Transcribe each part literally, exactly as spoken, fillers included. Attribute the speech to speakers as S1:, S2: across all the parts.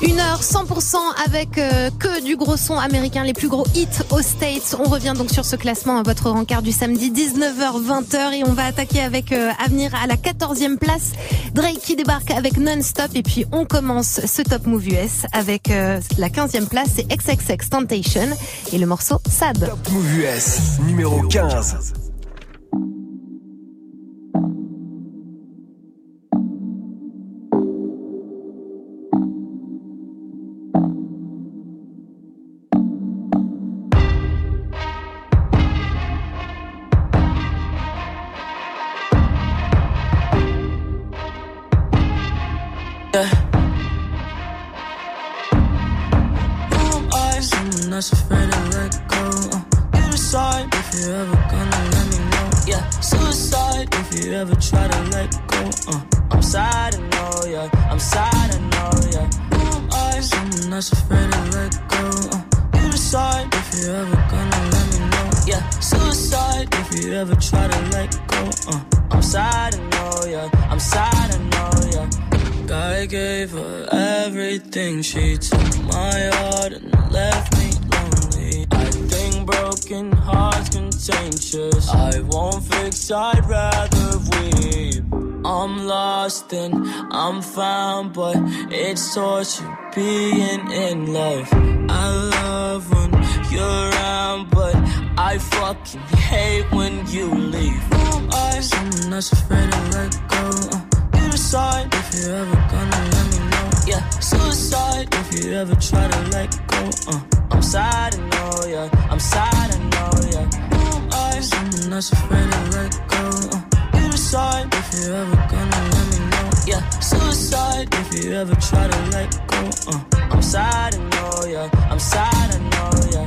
S1: Une heure cent pour cent avec euh, que du gros son américain, les plus gros hits aux States. On revient donc sur ce classement à votre rencard du samedi dix-neuf heures vingt et on va attaquer avec euh, Avenir à la quatorzième place. Drake qui débarque avec Non-Stop et puis on commence ce Top Move U S avec euh, la quinzième place, c'est X X X Temptation et le morceau Sad.
S2: Top Move U S numéro quinze.
S3: Not afraid to let go. Uh, you decide if you're ever gonna let me know. Yeah, suicide if you ever try to let go. Uh, I'm sad, I know, yeah. I'm sad, I know, yeah. Who am I? Someone that's afraid to let go. Uh, you decide if you're ever gonna let me know. Yeah, suicide if you ever try to let go. Uh, I'm sad, I know, yeah. I'm sad, I know, yeah. I gave her everything. She took my heart and left me lonely. I think broken hearts contagious. I won't fix, I'd rather weep. I'm lost and I'm found, but it's torture being in love. I love when you're around, but I fucking hate when you leave. Who am I? Someone that's afraid to let go. Uh, you decide if you're ever gonna let me know. Yeah, suicide if you ever try to let go. Uh, I'm sad, I know, yeah. I'm sad, I know, yeah. Who am I? Someone that's afraid to let go. Uh, you decide if you're ever gonna let me know. Yeah, suicide if you ever try to let go. Uh, I'm sad, I know, yeah. I'm sad, I know, yeah.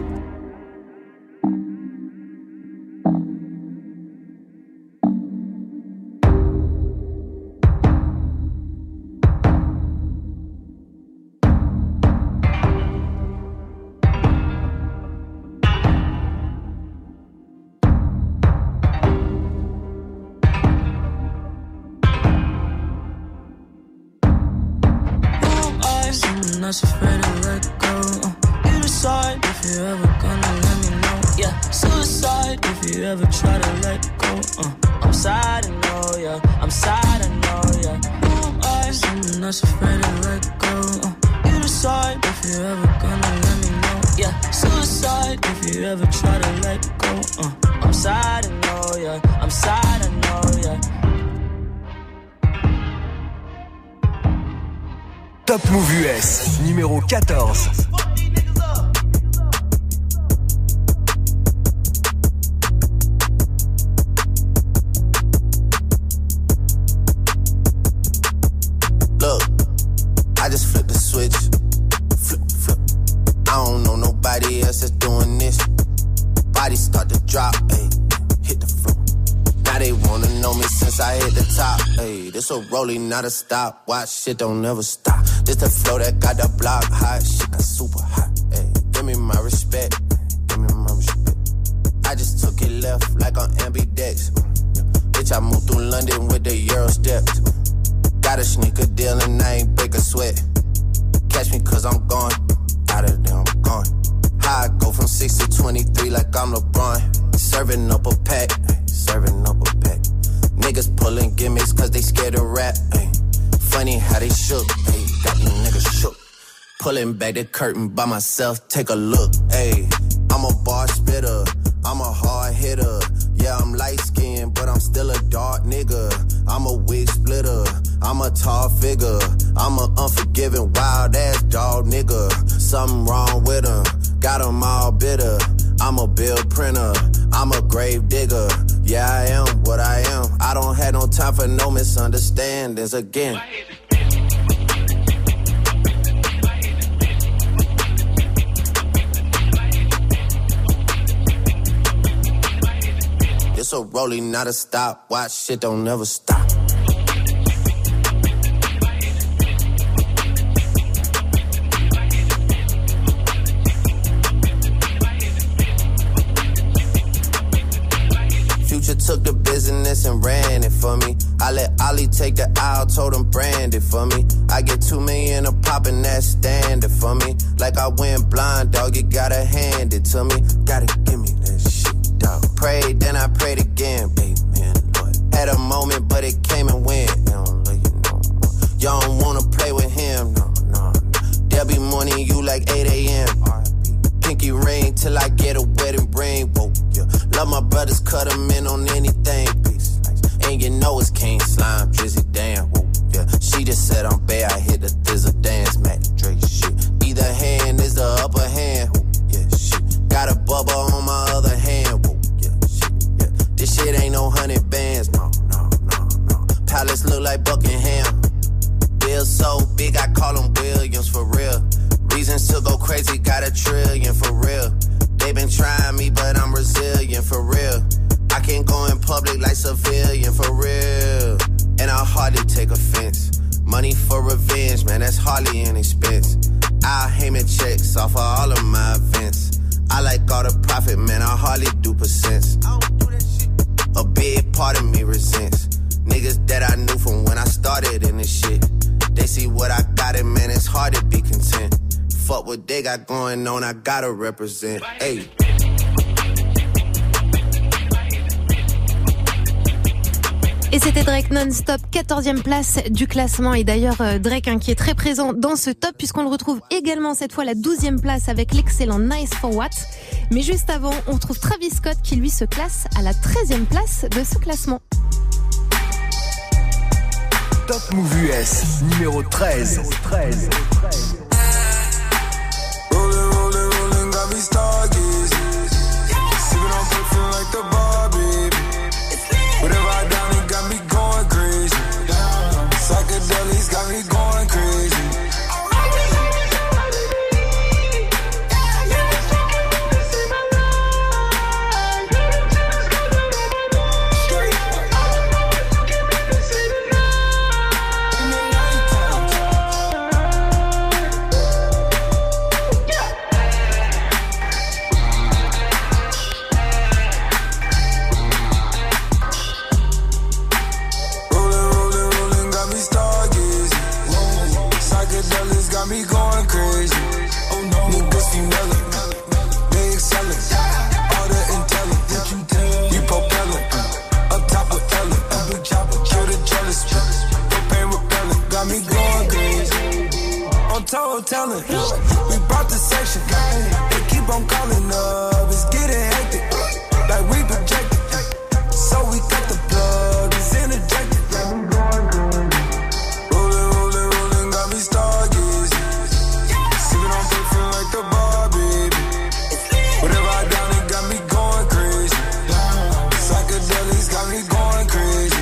S3: Not afraid to let go. Uh, you decide if you're ever gonna let me know. Yeah, suicide if you ever try to let go. Uh, I'm sad, I know, yeah. I'm sad, I know, yeah. Who am I? Someone that's afraid to let go. Uh, you decide if you're ever gonna let me know. Yeah, suicide if you ever try to let go. Uh, I'm sad, I know, yeah. I'm sad, I know, yeah.
S2: Top Move U S, numéro quatorze.
S4: Look, I just flipped the switch. Flip, flip. I don't know nobody else that's doing this. Body start to drop, ayy, hit the floor. Now they wanna know me since I hit the top. Ayy, this a rolling, not a stop. Watch, shit don't never stop. This the flow that got the block hot. Shit got super hot. Ayy, give me my respect. Give me my respect. I just took it left like on ambidex. Bitch, I moved through London with the Euro steps. Got a sneaker deal and I ain't break a sweat. Catch me cause I'm gone. Out of there, I'm gone. How I go from six to twenty-three like I'm LeBron. Serving up a pack. Serving up a pack. Niggas pulling gimmicks cause they scared of rap. Ay. Funny how they shook. Ay. Got these niggas shook. Pulling back the curtain by myself. Take a look. Ay. I'm a bar spitter. I'm a hard hitter. Yeah, I'm light skinned, but I'm still a dark nigga. I'm a wig splitter. I'm a tall figure. I'm a unforgiving, wild ass dog nigga. Something wrong with him. Got him all bitter. I'm a bill printer. I'm a grave digger. Yeah, I am what I am. I don't have no time for no misunderstandings again. It's a rolling, not a stop. Watch, shit don't never stop. Future took the business and ran it for me. I let Ollie take the aisle, told him brand it for me. I get two million a pop and that's for me. Like I went blind, dog, you gotta hand it to me. Gotta give me that shit, dog. Prayed, then I prayed again, amen, Lord. Had a moment, but it came and went. You don't like it no more. Y'all don't wanna play with him, no, no, no. There'll be morning you like eight a.m. Pinky ring till I get a wedding ring, whoa, yeah. Love my brothers, cut them in on anything, peace. And you know it's King Slime, Drizzy, damn, whoa, yeah. She just said I'm bad, I hit the thizzle dance, Mac Drake, shit. Either hand is the upper hand, whoa, yeah, shit. Got a bubble on my other hand, whoa, yeah, shit, yeah. This shit ain't no hundred bands, no, no, no, no. Palace look like Buckingham. Bill so big, I call him Williams, for real. Reasons to go crazy, got a trillion, for real. They been trying me, but I'm resilient, for real. I can't go in public like civilian, for real. And I hardly take offense. Money for revenge, man, that's hardly an expense. I'll Heyman checks off of all of my events. I like all the profit, man, I hardly do percents. I don't do that shit. A big part of me resents niggas that I knew from when I started in this shit. They see what I got and man, it's hard to be content. Fuck what they got going on, I gotta represent. Hey.
S1: Et c'était Drake non-stop, quatorzième place du classement. Et d'ailleurs, Drake hein, qui est très présent dans ce top, puisqu'on le retrouve également cette fois la douzième place avec l'excellent Nice for What. Mais juste avant, on retrouve Travis Scott qui lui se classe à la treizième place de ce classement.
S2: Top Move U S, numéro treize. treize.
S5: Rollin', rollin', rollin', got me stargazing. Sippin' on perfume like the bar, baby. Whatever I done, it got me going crazy. Psychedelics got me going crazy. Got me going crazy. Oh no, new pussy melon. They excellent. All the intelligence. You propelling. Up top of Ellen. Kill the jealous. Propane repellent. Got me going crazy. On toe telling. We brought the section. They keep on calling up. It's getting hectic. Like we projected. So we cut the plug. It's interjected. Got me going crazy. Rolling, rolling, rolling. Got me stargazing. Like the bar, baby. Whatever I done, it got me going crazy. Psychedelics got me going crazy.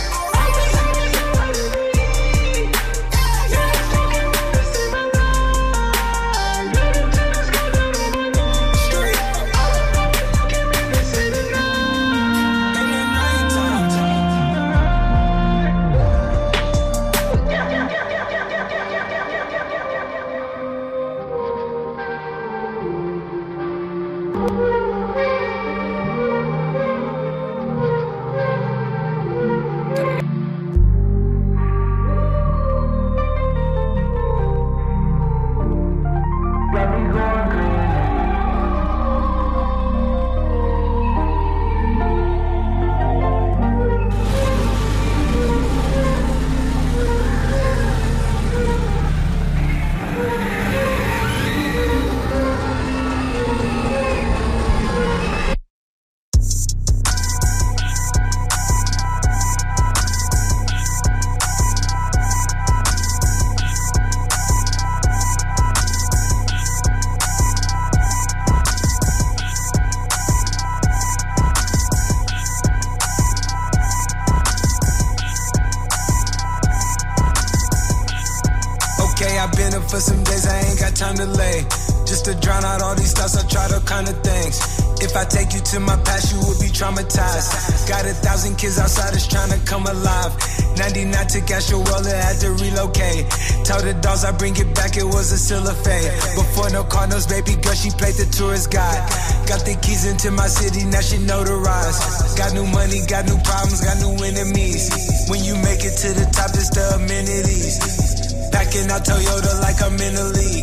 S5: For some days I ain't got time to lay. Just to drown out all these thoughts, I tried all kind of things. If I take you to my past, you would be traumatized. Got a thousand kids outside that's trying to come alive. ninety-nine took Astro World, had to relocate. Told the dogs I bring it back, it was a still a fade. Before no Cardinals, baby girl, she played the tourist guide. Got the keys into my city, now she notarized. Got new money, got new problems, got new enemies. When you make it to the top, it's the amenities. Packing out Toyota like I'm in the league.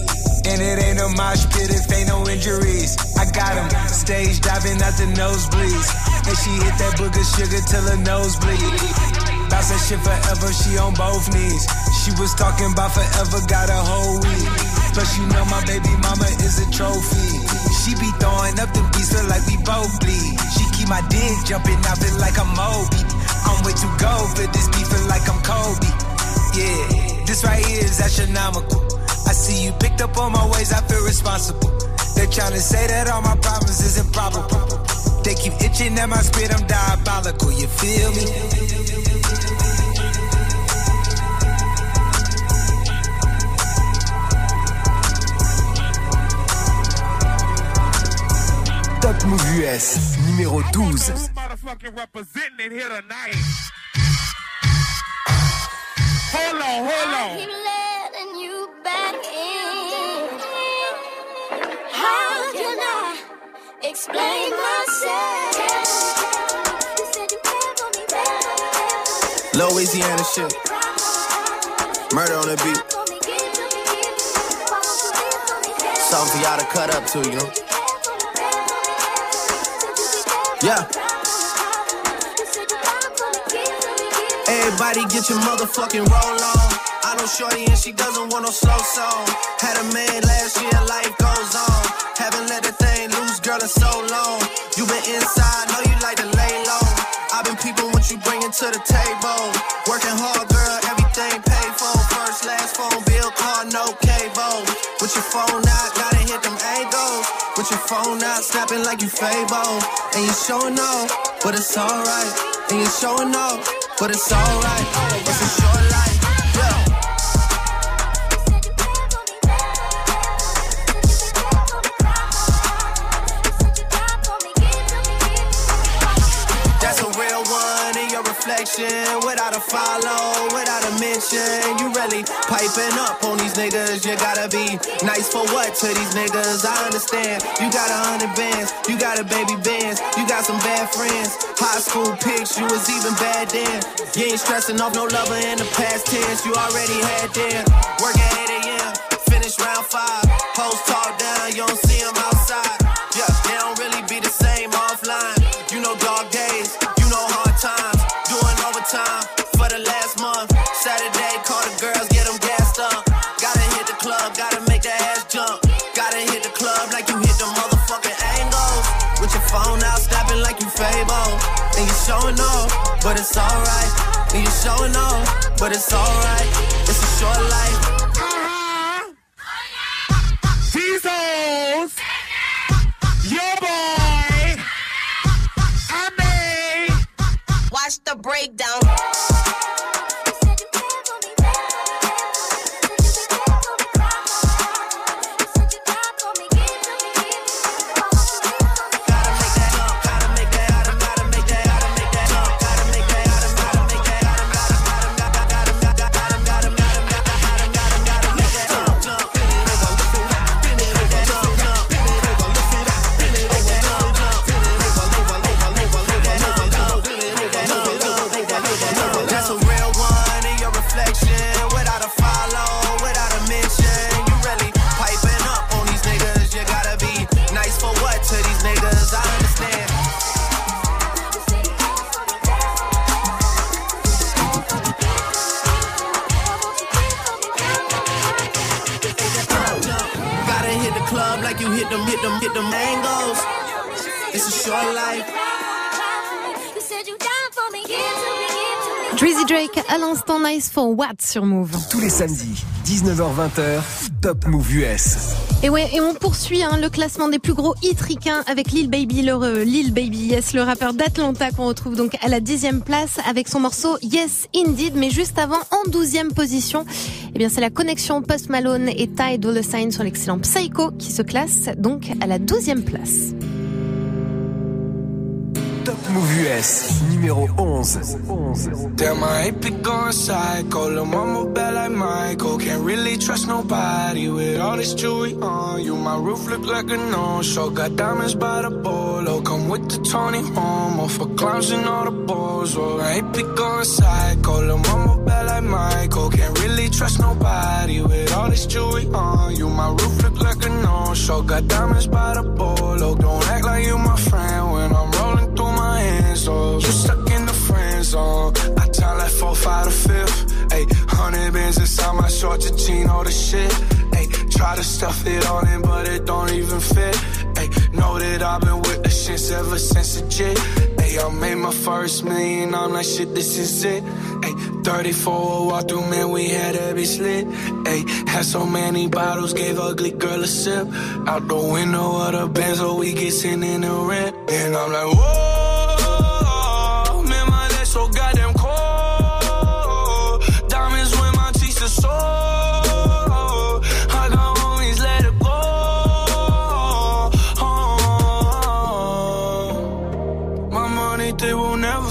S5: And it ain't a mosh pit if ain't no injuries. I got him, stage diving out the nosebleeds. And she hit that booger sugar till her nose bleed. Bounce that shit forever, she on both knees. She was talking about forever, got a whole week. Plus you know my baby mama is a trophy. She be throwing up the beats, feel like we both bleed. She keep my dick jumping, I feel like I'm Moby. I'm way too gold for this beat, feel like I'm Kobe. Yeah, this right here is astronomical. I see you picked up on my ways, I feel responsible. They're trying to say that all my problems is improbable. They keep itching at my spit, I'm diabolical, you feel me?
S2: Top Move U S, numéro douze.
S6: Hold on, hold on.
S7: Keep letting you back in. How can I explain myself? You said you cared for me, baby.
S4: Louisiana shit. Murder on the beat. Something for y'all to cut up to, you know? Yeah. Everybody get your motherfucking roll on. I know shorty and she doesn't want no slow song. Had a man last year, life goes on. Haven't let that thing loose, girl, in so long. You been inside, know you like to lay low. I've been peeping what you bringing to the table. Working hard, girl, everything paid for. First, last phone bill, car, no cable. With your phone out, gotta hit them angles. With your phone out, snapping like you Fable. And you showing off, but it's alright. And you showing off, but it's alright. It's a short life, yeah. That's a real one in your reflection. Without a follow, without a mention. You really piping up on these niggas. You gotta be nice for what to these niggas? I understand. You got a hundred bands, you got a baby bands, you got some bad friends. High school pics, you was even bad then. You ain't stressing off no lover in the past tense. You already had them. Work at eight a.m., finish round five. Hoes talk down, you don't see them outside. Yeah, they don't really be the same offline. You know dog days, you know hard times. Doing overtime for the last month. Saturday, call the girls, get them gassed up. Gotta hit the club, gotta make that ass jump. Gotta hit the club like you hit the motherfucking angles. With your phone out, snapping like you Fable. And you showing off, but it's alright. And you showing off, but it's alright. It's a short life.
S6: These hoes, your boy, I made.
S8: Watch the breakdown.
S1: Drizzy Drake à l'instant, Nice for What sur Move.
S2: Tous les samedis, dix-neuf heures vingt, Top Move U S.
S1: Et ouais, et on poursuit hein, le classement des plus gros hits ricains avec Lil Baby, le euh, Lil Baby Yes, le rappeur d'Atlanta qu'on retrouve donc à la dixième place avec son morceau Yes Indeed. Mais juste avant, en douzième position, eh bien c'est la connexion Post Malone et Ty Dolla Sign sur l'excellent Psycho qui se classe donc à la douzième place.
S2: Top Move U S, numéro onze.
S5: Damn, I hate be going psycho. Lil' mama bad like Michael. Can't really trust nobody with all this jewelry on you. My roof look like a no-show. Got diamonds by the bolo. Come with the Tony Romo for clowns and all the balls. Oh, I hate be going psycho. Lil' mama bad like Michael. Can't really trust nobody with all this jewelry on you. My roof look like a no-show. Got diamonds by the bolo. Don't act like you my friend when I'm rolling through my hands. Oh, you stuck in the friend zone. I time like four, five to fifth. Ayy, hundred bands inside my shorts, your jean, all the shit. Ayy, try to stuff it on in, but it don't even fit. Ayy, know that I've been with the shits ever since a jit. Ayy, I made my first million, I'm like, shit, this is it. Ayy, thirty-four walk through, man, we had every slit. Ayy, had so many bottles, gave ugly girl a sip. Out the window of the Benz, so we get sent in the rent. And I'm like, whoa, man, my legs so goddamn cold. Diamonds when my teeth are sore. I got homies, let it go. Oh, my money, they will never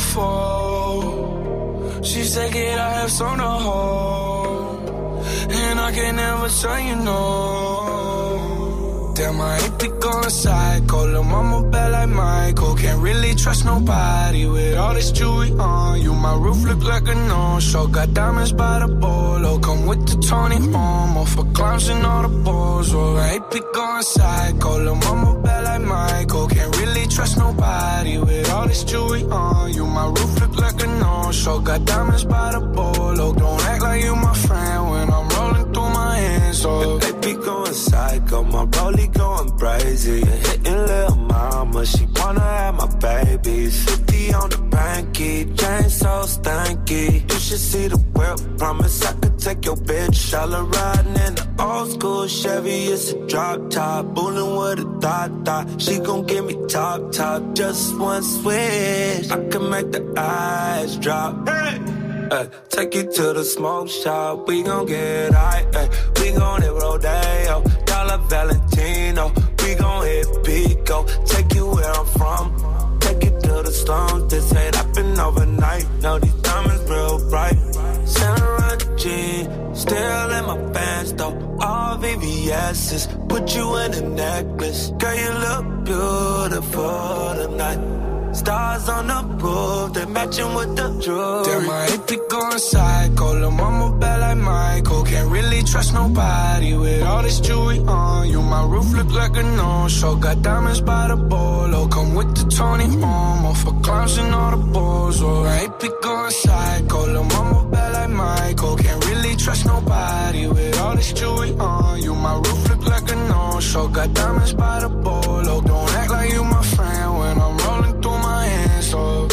S5: fall. She said, kid, I have some to hold. And I can never tell you no. Damn, I ain't be going psycho. Lil' mama bad like Michael. Can't really trust nobody with all this jewelry on you. My roof look like a no-show. Got diamonds by the bolo. Come with the Tony Romo for clowns and all the balls. Oh, I ain't be going psycho. Lil' mama bad like Michael. Can't really trust nobody with all this jewelry on you. My roof look like a no-show. Got diamonds by the bolo. Don't act like you my friend when I'm rolling through my hands. Oh,
S9: they be going psycho. My rollie going crazy. Hitting lil' mama, she wanna have my babies. fifty on the banky, chain so stanky. You should see the whip, promise I could take your bitch. All her riding in the old school Chevy, it's a drop top. Bullin' with a thought thought, she gon' give me top top. Just one switch, I can make the eyes drop. Hey! Uh, take you to the smoke shop, we gon' get high, uh, we gon' hit Rodeo, Dollar Valentino, we gon' hit Pico, take you where I'm from, take you to the slums, this ain't happen overnight, now these diamonds real bright, Santa G, still in my pants though, all V V S's, put you in a necklace, girl you look beautiful tonight. Stars on the roof, they matching with the jewelry.
S5: Damn, I hate be going psycho. Lil' mama bad like Michael. Can't really trust nobody with all this jewelry on you. My roof look like a no-show. Got diamonds by the bolo. Come with the Tony Romo for clowns and all the balls. Oh, I hate be going psycho. Lil' mama bad like Michael. Can't really trust nobody with all this jewelry on you. My roof look like a no-show. Got diamonds by the bolo. Don't act like you my friend when I'm rolling through my hands, oh.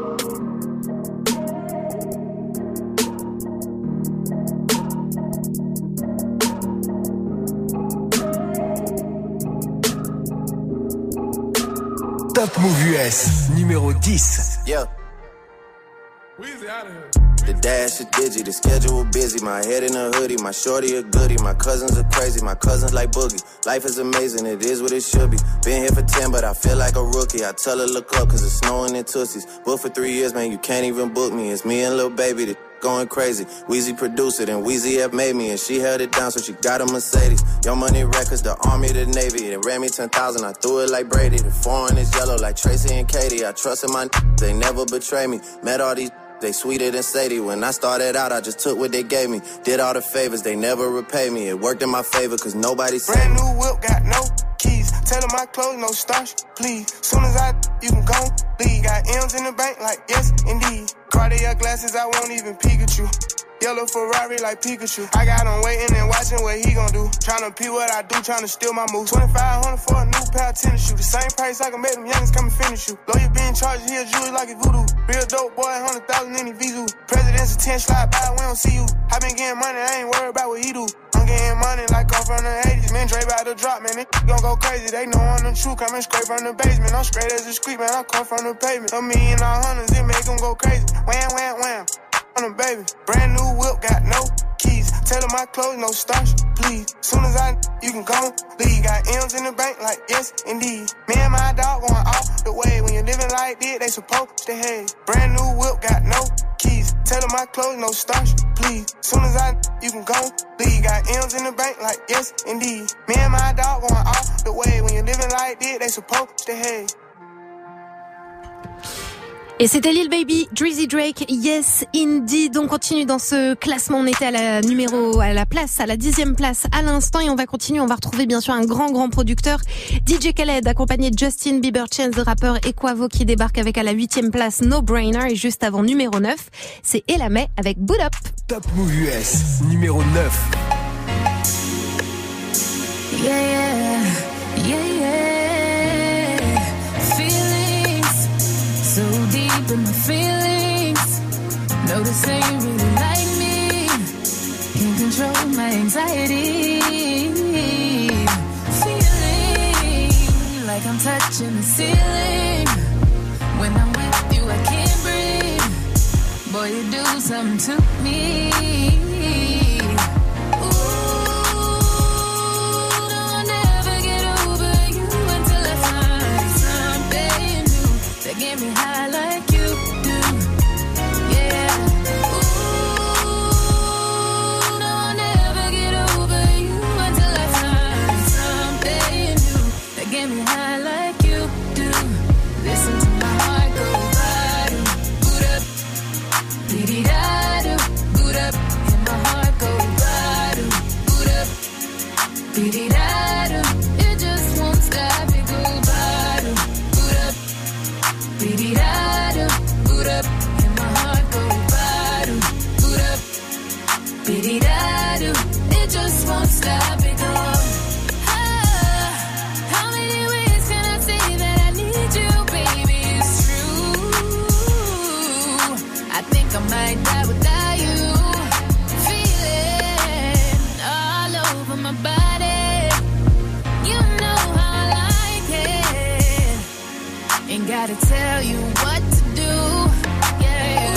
S2: Top Move U S, numéro dix.
S4: Yeah. The dash is digi, the schedule busy. My head in a hoodie, my shorty a goodie. My cousins are crazy, my cousins like Boogie. Life is amazing, it is what it should be. Been here for ten, but I feel like a rookie. I tell her look up, cause it's snowing in Tootsies. Booked for three years, man, you can't even book me. It's me and Lil Baby, the going crazy. Weezy produced it and Weezy F made me. And she held it down, so she got a Mercedes. Young Money Records, the Army, the Navy. They ran me ten thousand, I threw it like Brady. The foreign is yellow like Tracy and Katie. I trusted my n- they never betray me. Met all these they sweeter than Sadie. When I started out, I just took what they gave me. Did all the favors, they never repay me. It worked in my favor, cause nobody said.
S10: Brand new whip, got no keys. Tell them my clothes, no starch, please. Soon as I, you can go, leave. Got M's in the bank, like yes, indeed. Cartier glasses, I won't even peek at you. Yellow Ferrari like Pikachu. I got him waiting and watching what he gon' do. Tryna pee what I do, tryna steal my moves. twenty-five hundred for a new pair of tennis shoes. The same price I can make them youngins come and finish you. Lawyer being charged, he a jewelry like a voodoo. Real dope boy, one hundred thousand in his Vizu. President's a ten slide by, we don't see you. I been getting money, I ain't worried about what he do. I'm getting money like I'm from the eighties. Man, Dre about to drop, man, they gon' go crazy. They know I'm the truth, coming straight from the basement. I'm straight as a street, man, I come from the pavement. A million all hundreds, it make them go crazy. Wham, wham, wham. On a baby, brand new whip, got no keys. Tell her my clothes, no starch, please. Soon as I, you can go, leave. Got M's in the bank, like, yes, indeed. Me and my dog going off the way. When you're living like this, they supposed to hate. Brand new whip, got no keys. Tell her my clothes, no starch, please. Soon as I, you can go, leave. Got M's in the bank, like, yes, indeed. Me and my dog going off the way. When you're living like this, they supposed to hate.
S1: Et c'était Lil Baby, Drizzy Drake, Yes Indeed. On continue dans ce classement. On était à la numéro, à la place, à la dixième place à l'instant, et on va continuer. On va retrouver bien sûr un grand, grand producteur, D J Khaled, accompagné de Justin Bieber, Chance the Rapper et Quavo, qui débarque avec à la huitième place No Brainer, et juste avant numéro neuf, c'est Ella Mai avec Boot Up.
S2: Top Move U S, numéro neuf.
S3: Yeah, yeah, yeah, yeah. Feelings so deep in my feelings. No, this ain't really like me. Can't control my anxiety. Feeling like I'm touching the ceiling. When I'm with you, I can't breathe. Boy, you do something to me. Get me high like you do, yeah. Ooh, no, I'll never get over you until I find something new that get me high like you do. Listen to my heart go bada, boot up, dee da do, boot up, and my heart go bada, boot up, dee da do. It just won't stop, it go bada, boot up. Bidi-da-do, boot up, and my heart go bada, boot up. Bidi-da-do, it just won't stop, it go. Ah, how many ways can I say that I need you, baby? It's true. I think I might die without you. Feeling all over my body. You know how I like it. Ain't gotta tell you what to do, yeah.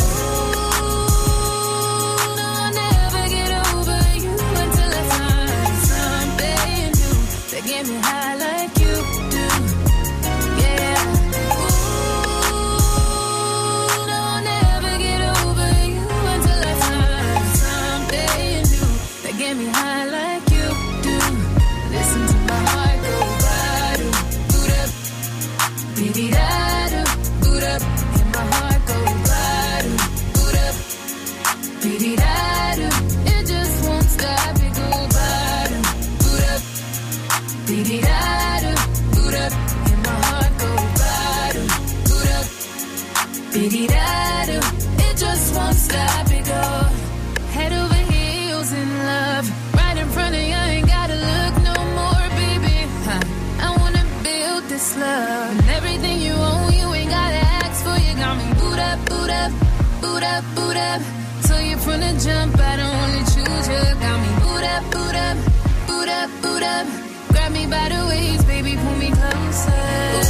S3: Ooh, no, I'll never get over you until I find something new that get me high like you do, yeah. Ooh, no, I'll never get over you until I find something new that get me high like you do. Listen to my heart go bada, boot up, bidi-da-do, boot up, and my heart go bada, boot up, bidi-da-do. It just won't stop, it go bada, boot up, bidi-da-do, boot up, and my heart go bada, boot up, bidi-da-do. It just won't stop, it go. Head over heels in love, right in front of you, I ain't gotta look no more, baby. Huh. I wanna build this love, and everything you own, you ain't gotta ask for. You got me boot up, boot up, boot up, boot up. So you from the jump, I don't wanna choose you. Got me boot up, boot up, boot up, boot up. Grab me by the waist, baby, pull me closer.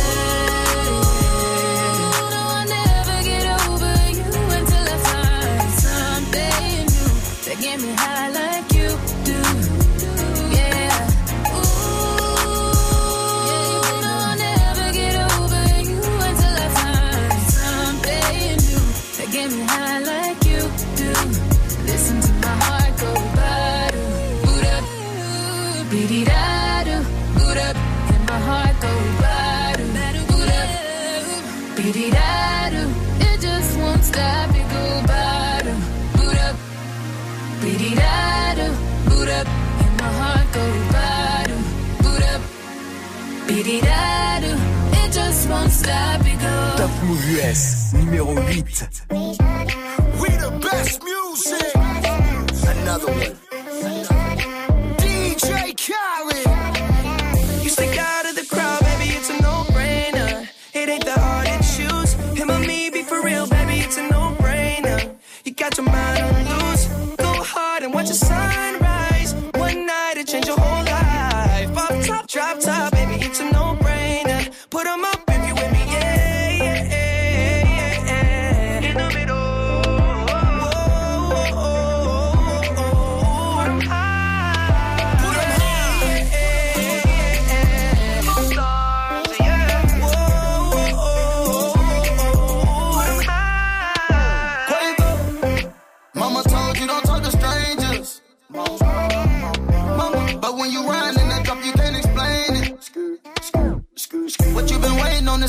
S3: Ooh, no, I'll never get over you until I find something new that get me high like you do, yeah. Get me high like you do. Listen to my heart go bada, boot up, bidi-da-do, boot up, and my heart go bada, boot up, bidi-da-do. It just won't stop, it go bada, boot up, bidi-da-do, boot up, and my heart go bada, boot up, bidi-da-do. It just won't stop, it go.
S2: Top Move U S, numéro huit.
S6: We the best music. Another one. D J Khaled.
S11: You stick out of the crowd, baby, it's a no-brainer. It ain't that hard to choose. Him or me, be for real, baby, it's a no-brainer. You got your mind on loose. Go hard and watch the sunrise. One night it change your whole life. Off top, drop top, baby, it's a no-brainer. Put 'em up if you with me, yeah, yeah, yeah, yeah. In the middle. Whoa, whoa, whoa, whoa.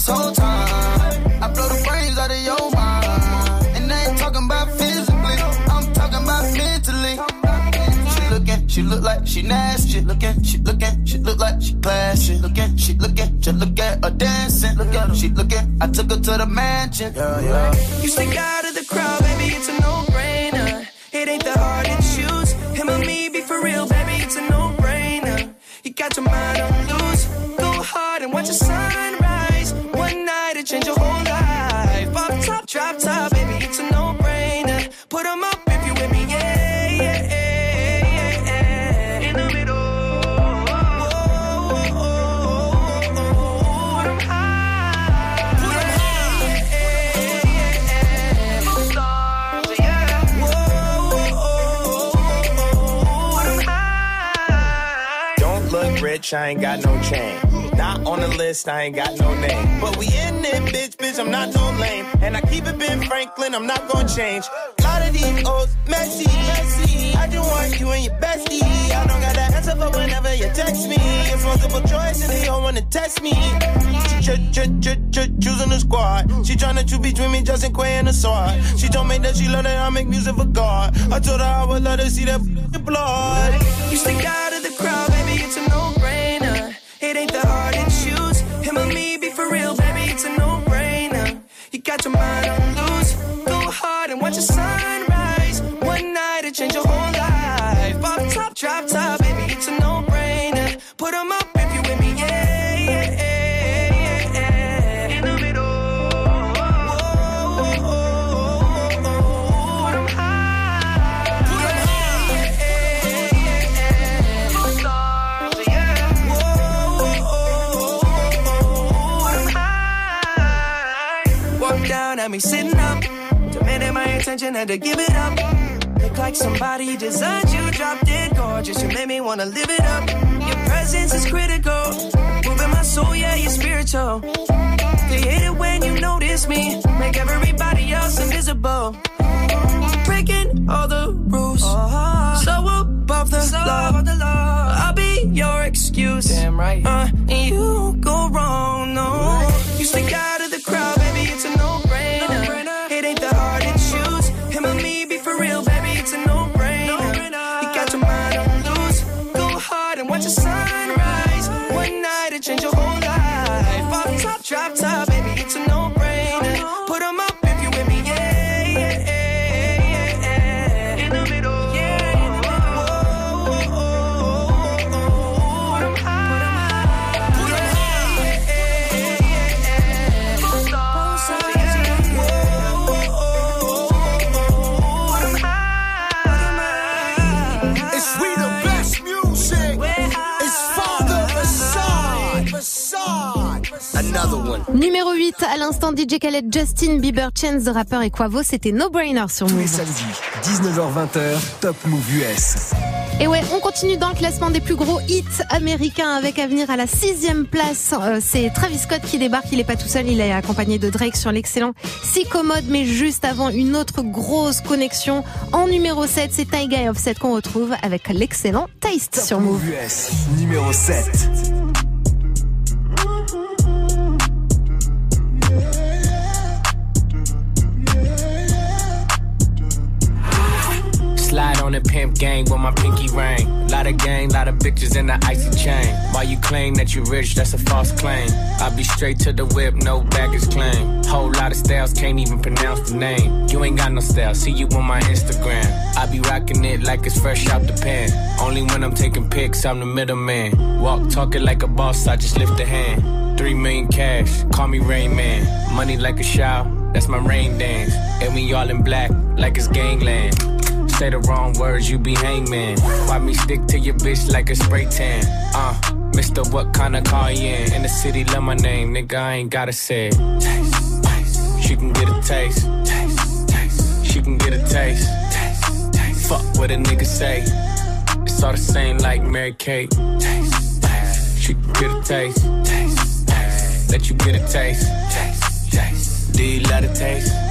S12: this whole time. I blow the brains out of your mind. And I ain't talking about physically, I'm talking about mentally. She looking, she look like she nasty. Looking, she looking, she look like she classy. Looking, she looking, just look at her dancing. Look at her, she looking, I took her to the mansion. Yeah, yeah.
S11: You stick out of the crowd, baby, it's a no-brainer. It ain't that hard to choose. Him or me, be for real, baby, it's a no-brainer. You got your mind on loose. Go hard and watch the sunrise. One night it change your whole life. Off top, drop top, baby, it's a no-brainer. Put 'em up if you with me, yeah, yeah, yeah, yeah. In the middle. Whoa, whoa, whoa, whoa. Put 'em high. Put 'em high. Yeah, yeah, yeah. Stars, yeah. Whoa, whoa, whoa. Put 'em high.
S13: Don't look rich, I ain't got no chain. Not on the list, I ain't got no name. But we in it, bitch, bitch, I'm not no lame. And I keep it Ben Franklin, I'm not gonna change. A lot of these old messy, messy. I just want you and your bestie. I don't got that answer for whenever you text me. It's multiple choice and they don't wanna test me. She ch- ch- ch- ch- choosing the squad. She tryna choose between me, Justin Quay and the sword. She told me that she love that I make music for God. I told her I would let her see that blood.
S11: You stick out of the crowd, baby, it's a no-brainer. It ain't that hard to choose. Him or me, be for real, baby, it's a no-brainer. You got your mind on loose. Go hard and watch the sunrise. One night it change your whole life. Off top, drop top, baby, it's a no-brainer. Put 'em up if you with me, yeah, yeah, yeah, yeah. In the middle. Whoa, whoa, whoa, whoa. Put 'em high. Put 'em high. Yeah, yeah, yeah. Stars, yeah. Walk down at me sitting up, demanding my attention, had to give it up. Look like somebody designed you, dropped it gorgeous. You made me wanna live it up. Your presence is critical, moving my soul, yeah, you're spiritual. They hate it when you notice me, make everybody else invisible. Breaking all the rules, so above the law. I'll be your excuse, damn right. Uh, and you don't go wrong, no. You stick out of the crowd, baby, it's a no-brainer. It ain't that hard to choose. Him or me, be for real, baby, it's a no-brainer. You got your mind on loose. Go hard and watch the sunrise. One night it change your whole life. Off top, drop top, baby, it's a no-brainer. Put 'em up if you with me, yeah, yeah, yeah, yeah. In the middle, yeah. Whoa, whoa, whoa, whoa. Put 'em high. Put 'em high. Yeah, yeah, yeah. Both sides, yeah. Whoa, whoa, whoa. Put 'em high.
S6: It's we the best music. It's Father Assad. Assad.
S4: Another one.
S1: Numéro huit, à l'instant, D J Khaled, Justin Bieber, Chance the Rapper et Quavo, c'était No Brainer sur
S2: Tous les
S1: Move.
S2: samedis, dix-neuf heures vingt, Top Move U S.
S1: Et ouais, on continue dans le classement des plus gros hits américains avec à venir à la sixième place. Euh, c'est Travis Scott qui débarque, il est pas tout seul, il est accompagné de Drake sur l'excellent Sicko Mode, mais juste avant une autre grosse connexion. En numéro sept, c'est Tyga et Offset qu'on retrouve avec l'excellent Taste
S2: Top
S1: sur Move.
S2: U S, numéro sept.
S14: Slide on the pimp gang with my pinky ring. Lot of gang, lot of bitches in the icy chain. While you claim that you rich, that's a false claim. I be straight to the whip, no baggage claim. Whole lot of styles, can't even pronounce the name. You ain't got no style, see you on my Instagram. I be rocking it like it's fresh out the pan. Only when I'm taking pics, I'm the middleman. Walk talking like a boss, I just lift a hand. Three million cash, call me Rain Man. Money like a shower, that's my rain dance. And we all in black, like it's gangland. Say the wrong words, you be hangman. Why me stick to your bitch like a spray tan? Uh, Mister What kind of car you in? In the city, love my name, nigga, I ain't gotta say it. Taste, taste. She can get a taste. Taste, taste. She can get a taste. Taste, taste. Fuck what a nigga say. It's all the same like Mary Kate. Taste, taste. She can get a taste. Taste, taste. Let you get a taste. Taste, taste. Do you love the taste?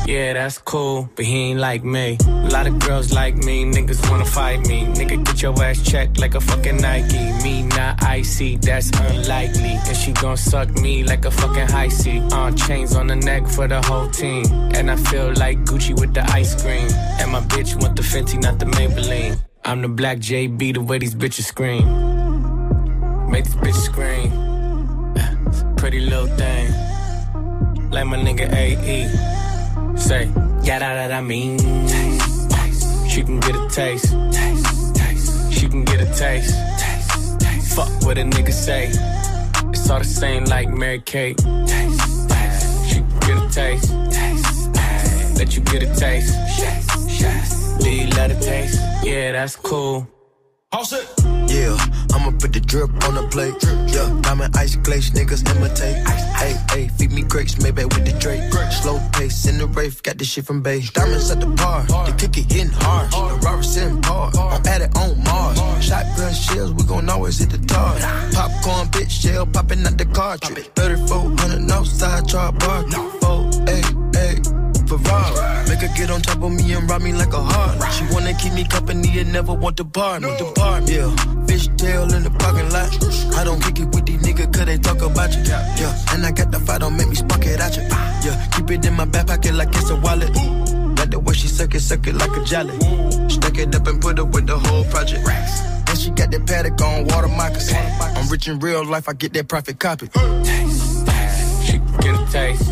S14: Yeah, that's cool, but he ain't like me. A lot of girls like me, niggas wanna fight me. Nigga, get your ass checked like a fucking Nike. Me not icy, that's unlikely. And she gon' suck me like a fucking high C. On uh, chains on the neck for the whole team. And I feel like Gucci with the ice cream. And my bitch want the Fenty, not the Maybelline. I'm the black J B, the way these bitches scream. Make these bitches scream. Pretty little thing. Like my nigga A E. Say, yeah, that, that I mean. Taste, taste. She can get a taste. Taste, taste. She can get a taste. Taste, taste. Fuck what a nigga say. It's all the same like Mary Kate. Taste, taste. She can get a taste. Taste, taste. Let you get a taste. Yes, yes. Do you love the taste? Yeah, that's cool.
S15: All set. Yeah, I'ma put the drip on the plate. Yeah, diamond ice glaze, niggas imitate. Hey, hey, feed me grapes, maybe with the Drake. Slow pace in the Wraith, got this shit from Bay. Diamonds at the bar, the kick it hitting hard. The Robert sitting hard, I'm at it on Mars. Shotgun shells, we gon' always hit the tar. Popcorn, bitch, shell popping out the cartridge. thirty-four hundred outside, char bar. Oh, hey, hey. Ferrari. Make her get on top of me and rob me like a heart. She wanna keep me company and never want to bar me. The bar, yeah. Fish tail in the parking lot. I don't kick it with these niggas cause they talk about you. Yeah, and I got the fight, don't make me spark it at you. Yeah, keep it in my back pocket like it's a wallet. Like the way she suck it, suck it like a jelly. Stack it up and put it with the whole project. And she got that paddock on water moccasins. I'm rich in real life, I get that profit copy.
S14: Taste, taste. She can get a taste.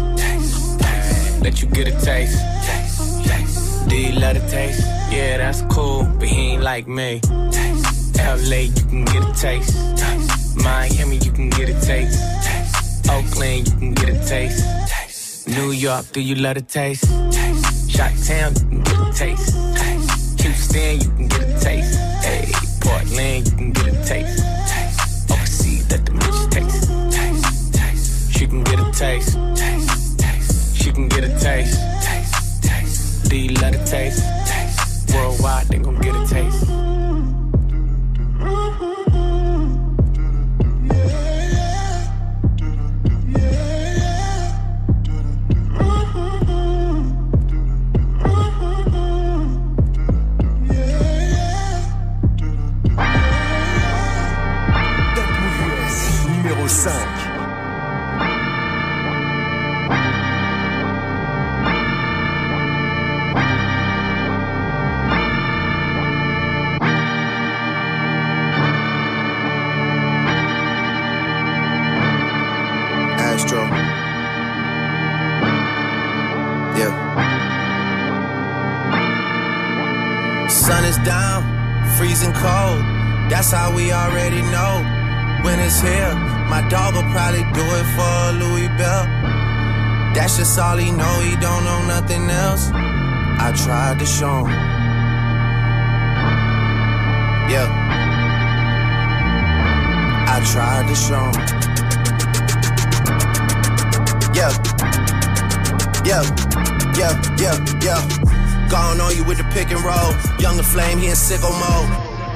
S14: Let you get a taste. Taste, taste. Do you love the taste? Yeah, that's cool, but he ain't like me. Taste, L A, you can get a taste. Taste. Miami, you can get a taste. Taste. Oakland, you can get a taste. Taste. New York, do you love the taste? Taste. Chi-Town, you can get a taste. Taste. Houston, you can get a taste. Hey, Portland, you can get a taste. Taste. Overseas, let the bitches taste. Taste. Taste. She can get a taste. Taste. She can get a taste. Taste, taste. Do you love the taste? Taste. Worldwide, they gon' get a taste.
S2: Numéro cinq.
S4: Sun is down, freezing cold. That's how we already know. When it's here, my dog will probably do it for a Louis Bell. That's just all he know, he don't know nothing else. I tried to show him. Yeah. I tried to show him. Yeah. Yeah. Yeah. Yeah. Yeah. Gone on you with the pick and roll. Younger flame, he in sicko mode.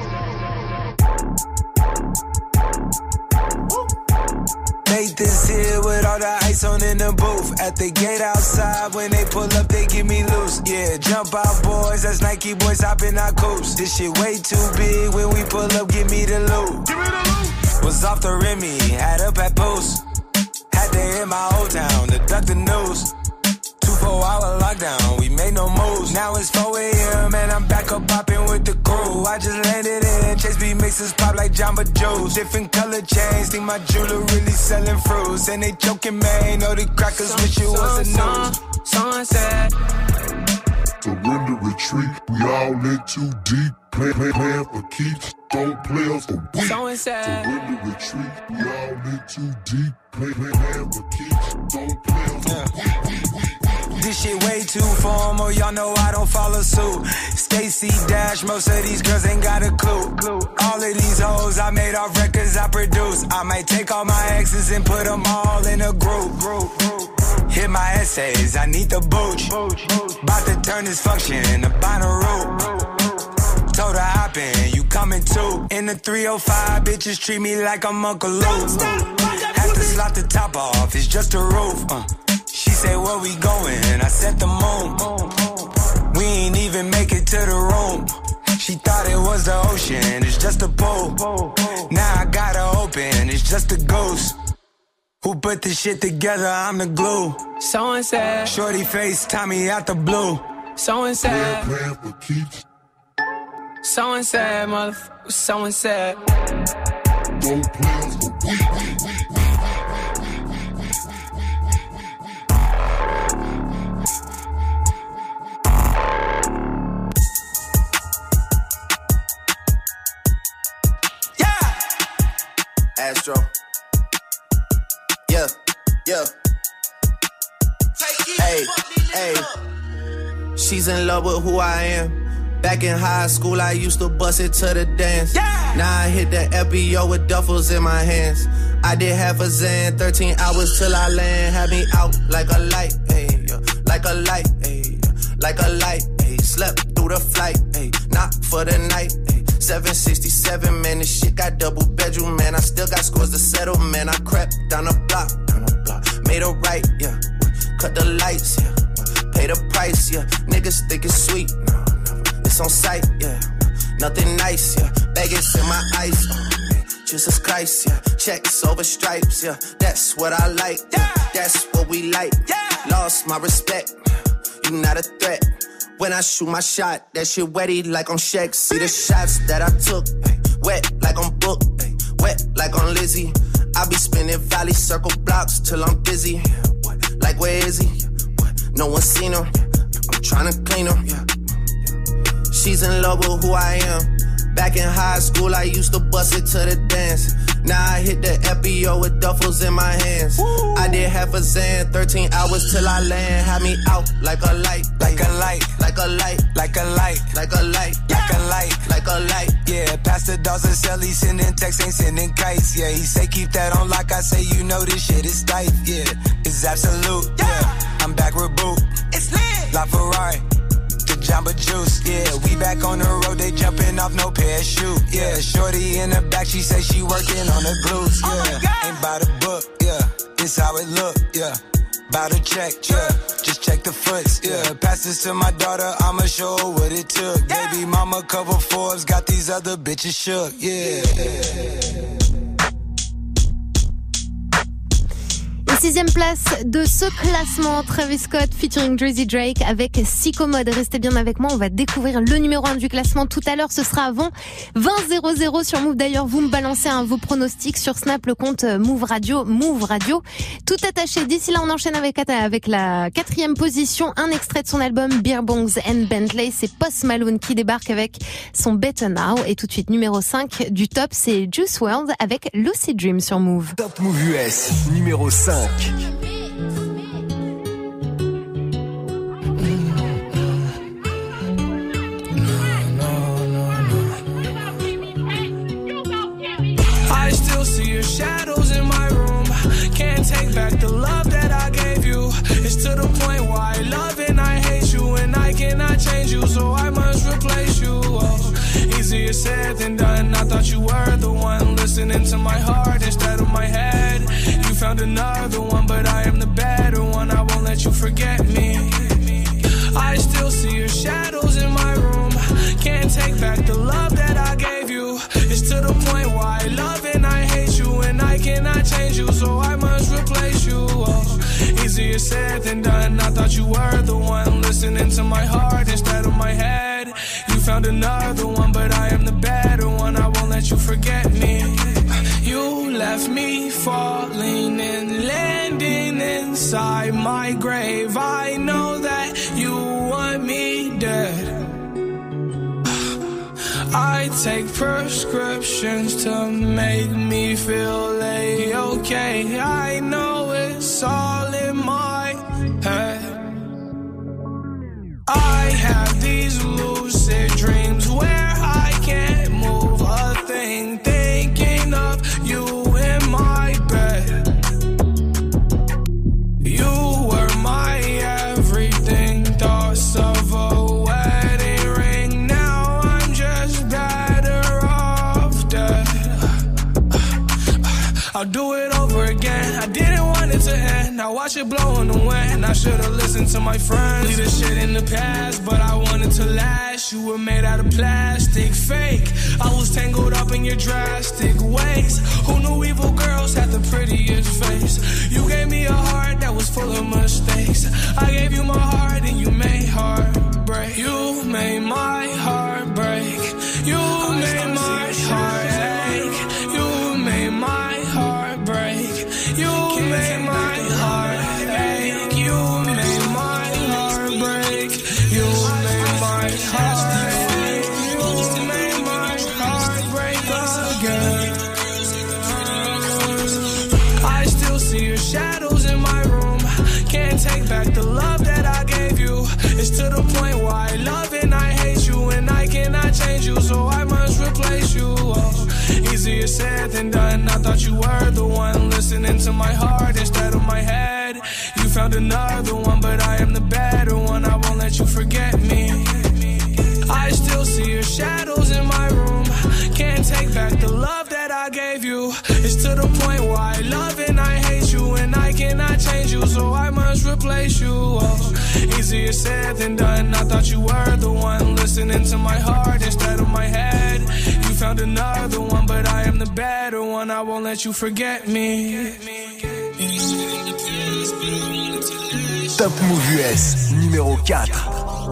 S16: Made this here with all the ice on in the booth. At the gate outside, when they pull up, they give me loose. Yeah, jump out boys, that's Nike boys hopping our coops. This shit way too big, when we pull up, give me the loot. Give me the loot. Was off the Remy, had up at Boost. Had to hit my old town to duck the news. Four hour lockdown, we made no moves. Now it's four a.m. and I'm back up popping with the crew. I just landed in, Chase B mixes pop like Jamba Juice. Different color chains, think my jeweler really selling fruits. And they joking, man, know the crackers wish it was a news.
S17: Sunset. Surrender, retreat, we all in too deep. Play, play, plan for keeps, don't play us for weak. Surrender, retreat, we all in too deep. Play, play, plan for keeps, don't play us for weak.
S16: This shit way too formal, y'all know I don't follow suit. Stacy Dash, most of these girls ain't got a clue. All of these hoes I made off records I produce. I might take all my exes and put them all in a group. Hit my essays, I need the booch. About to turn this function into Bonnaroo. Told her hop in, you coming too. In the three oh five, bitches treat me like I'm Uncle Luke. Have to slot the top off, it's just a roof. Uh. She said, where we going? I said the moon. We ain't even make it to the room. She thought it was the ocean, it's just a pool. Now I gotta open, it's just a ghost. Who put this shit together? I'm the glue.
S11: So and said,
S16: shorty face, Tommy out the blue.
S11: So and said, so and said, motherfucker, so and said.
S17: Don't play us for we, we, we, we.
S4: Astro. Yeah, yeah. Hey, hey. She's in love with who I am. Back in high school, I used to bust it to the dance. Yeah. Now I hit the F B O with duffels in my hands. I did half a Zan, thirteen hours till I land. Had me out like a light, ayy, like a light, ayy, like a light, ayy. Slept through the flight, ayy, not for the night, ayy. seven sixty-seven, man, this shit got double bedroom, man. I still got scores to settle, man. I crept down the block, down the block. Made a right, yeah. Cut the lights, yeah. Pay the price, yeah. Niggas think it's sweet, no, never. It's on sight, yeah. Nothing nice, yeah. Vegas in my ice, oh, man. Jesus Christ, yeah. Checks over stripes, yeah. That's what I like, yeah. That's what we like, yeah. Lost my respect, you not a threat. When I shoot my shot, that shit wetty like on Shaq. See the shots that I took, ay, wet like on Book, ay, wet like on Lizzie. I be spinning valley circle blocks till I'm busy. Yeah, what? Like where is he? Yeah, what? No one seen him. Yeah, I'm tryna clean him. Yeah, yeah. She's in love with who I am. Back in high school, I used to bust it to the dance. Now I hit the F B O with duffels in my hands. Woo. I did half a Zan, thirteen hours till I land. Had me out like a light,
S16: like a light,
S4: like a light,
S16: like a light,
S4: like a light,
S16: like a light,
S4: like a light.
S16: Yeah, Pastor Dawson sell, he sending texts, ain't sending kites. Yeah, he say keep that on like I say, you know this shit is tight. Yeah, it's absolute. Yeah, I'm back with Boo. It's lit. La Ferrari. Jamba Juice, yeah, we back on the road, they jumping off no parachute, yeah, shorty in the back, she say she working on the glutes, yeah, oh ain't by the book, yeah, this how it look, yeah, by the check, yeah, just check the foots, yeah, pass this to my daughter, I'ma show her what it took, yeah. Baby mama cover Forbes, got these other bitches shook, yeah.
S1: Sixième place de ce classement, Travis Scott featuring Drizzy Drake avec Psychomode. Restez bien avec moi, on va découvrir le numéro un du classement tout à l'heure. Ce sera avant vingt zéro zéro sur Move. D'ailleurs, vous me balancez hein, vos pronostics sur Snap, le compte Move Radio, Move Radio. Tout attaché. D'ici là, on enchaîne avec, avec la quatrième position. Un extrait de son album Beer Bongs and Bentley. C'est Post Malone qui débarque avec son Better Now. Et tout de suite, numéro cinq du top, c'est Juice world avec Lucid Dream sur Move.
S2: Top Move U S, numéro cinq.
S11: I still see your shadows in my room. Can't take back the love that I gave you. It's to the point where I love and I hate you, and I cannot change you, so I must replace you. Oh, easier said than done. I thought you were the one listening to my heart instead of my head. You found another one, but I am the better one. I won't let you forget me. I still see your shadows in my room. Can't take back the love that I gave you. It's to the point where I love and I hate you, and I cannot change you, so I must replace you. Oh, easier said than done. I thought you were the one listening to my heart instead of my head. You found another one, but I am the better one. I won't let you forget me. You left me falling and landing inside my grave. I know that you want me dead. I take prescriptions to make me feel A-okay. I know it's all in my head. I have these lucid dreams where I can't move a thing, thinking of you in my bed. You were my everything, thoughts of a wedding ring. Now I'm just better off dead. I'll do it over again. I didn't want it to end. Now watch it blow in the wind. I should've listened to my friends. Leave this shit in the past, but I wanted to last. You were made out of plastic, fake. I was tangled up in your drastic ways. Who knew evil girls had the prettiest face? You gave me a heart that was full of mistakes. I gave you my heart and you made heartbreak. You made my heart break. You made my heart ache. You made my heart break. You made my heart ache. You made my heart break. You made my heart ache. You made my heart break again. I still see your shadows in my room. Can't take back the love that I gave you. It's to the point where I love and I hate you, and I cannot change you, so I must replace you. Oh, easier said than done. I thought you were the one listening to my heart instead of my head. You found another one, but I am the better one. I won't let you forget me. I still see your shadows in my room. Can't take back the love that I gave you. It's to the point where I love and I hate you, and I cannot change you, so I must replace you. Oh, easier said than done. I thought you were the one listening to my heart instead of my head. You found another one, but I am the better one. I won't let you forget me.
S2: Top Move U S, numéro quatre.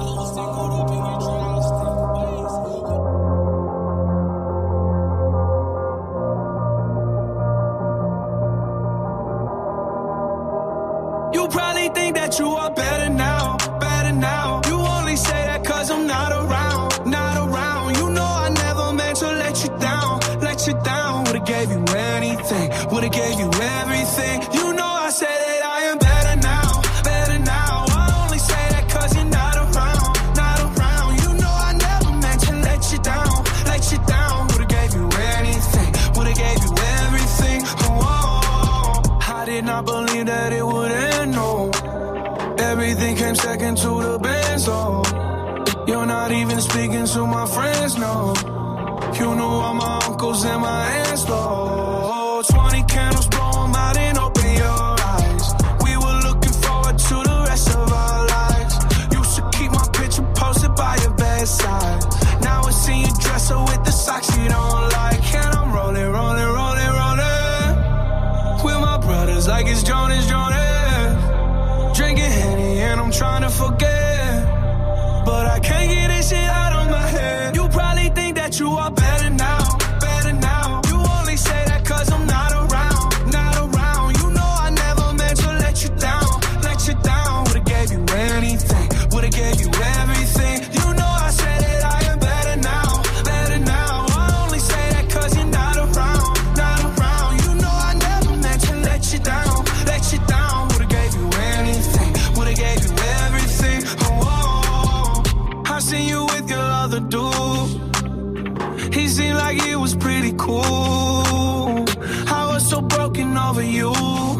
S11: You probably think that you are better now, better now. You only say that cause I'm not around, not around. You know I never meant to let you down, let you down. Would've gave you anything, would've gave you everything. You know I said that I am better now, better now. I only say that cause you're not around, not around. You know I never meant to let you down, let you down. Would've gave you anything, would've gave you everything. Oh, I did not believe that it would end, no. Everything came second to the best, oh. You're not even speaking to my friends, no. You knew all my uncles and my aunts, oh. Twenty candles, blow them out and open your eyes. We were looking forward to the rest of our lives. Used to keep my picture posted by your bedside. Now I see you dresser with the socks you don't like. And I'm rolling, rolling, rolling, rolling with my brothers like it's Jonas, Jonas. Drinking Henny and I'm trying to forget, but I can't get this shit out of my head. You probably think that you are better now, better now. You only say that cause I'm not around, not around. You know I never meant to let you down, let you down. Would've gave you anything, would've gave you everything. You know I said that I am better now, better now. I only say that cause you're not around, not around. You know I never meant to let you down, let you down. Would've gave you anything, would've gave you everything. Oh, oh, oh. I seen you with your other dude. He seemed like he was pretty cool. I was so broken over you.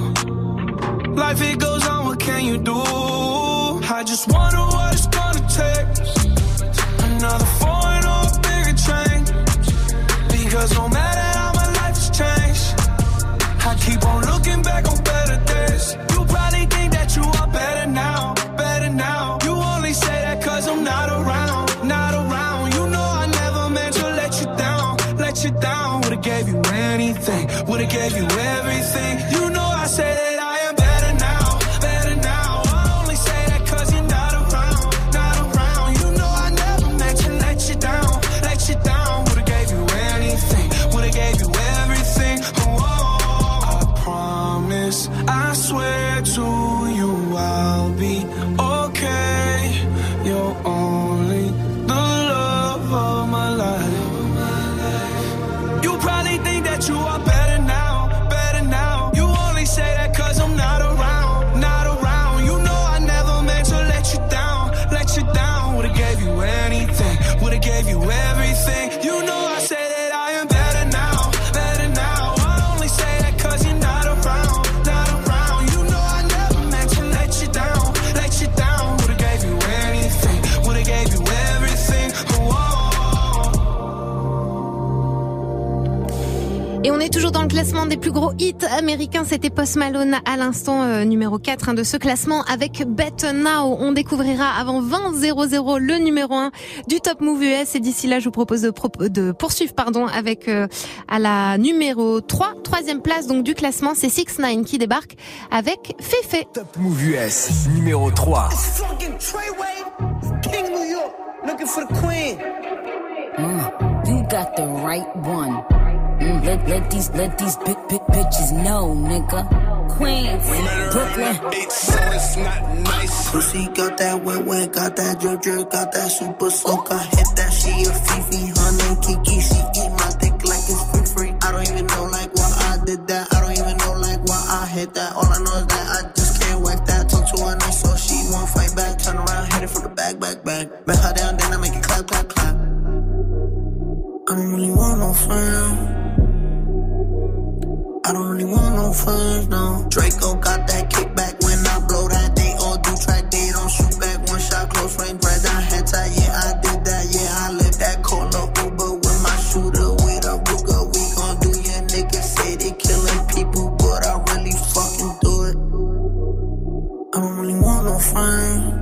S11: Life it goes on, what can you do? I just wonder what it's gonna take. Another foreign or a bigger train. Because no matter how my life has changed, I keep on looking back on better days. You probably think that you are better now, better now. You only say that cause I'm not around, not around. You know I never meant to let you down, let you down. Would've gave you anything, would've gave you everything. You know I say that I am better now, better now. I only say that cause you're not around, not around. You know I never meant to let you down, let you down. Would've gave you anything, would've gave you everything. Oh, oh, I promise, I swear to you I'll be okay. You're only the love of my life. You probably think that you are better now, better now. You only say that cause
S1: est toujours dans le classement des plus gros hits américains. C'était Post Malone à l'instant euh, numéro quatre hein, de ce classement avec Bet Now. On découvrira avant vingt zéro zéro le numéro un du Top Move U S. Et d'ici là, je vous propose de, pro- de poursuivre pardon, avec euh, à la numéro trois, troisième place donc du classement. C'est six ix qui débarque avec Fefe.
S2: Top Move U S numéro trois.
S18: King New York, looking for the queen.
S19: Mm, you got the right one. Mm, let, let these let these big big bitches know, nigga. Queens, Brooklyn.
S5: So it's not nice.
S12: Pussy got that wet wet, got that drip drip, got that super soak. I hit that, she a Fifi, her name Kiki. She eat my dick like it's free free. I don't even know like why I did that. I don't even know like why I hit that. All I know is that I just can't whack that. Talk to her nice so she won't fight back. Turn around, hit it for the back, back, back. Bet her down, then I make it clap, clap, clap. I don't really want no friends. I don't really want no friends, no. Draco got that kickback when I blow that. They all do track, they don't shoot back. One shot, close range, right down head tie. Yeah, I did that, yeah, I lived that. Call up Uber with my shooter, with a Ruger. We gon' do your niggas say they killing people, but I really fucking do it. I don't really want no friends.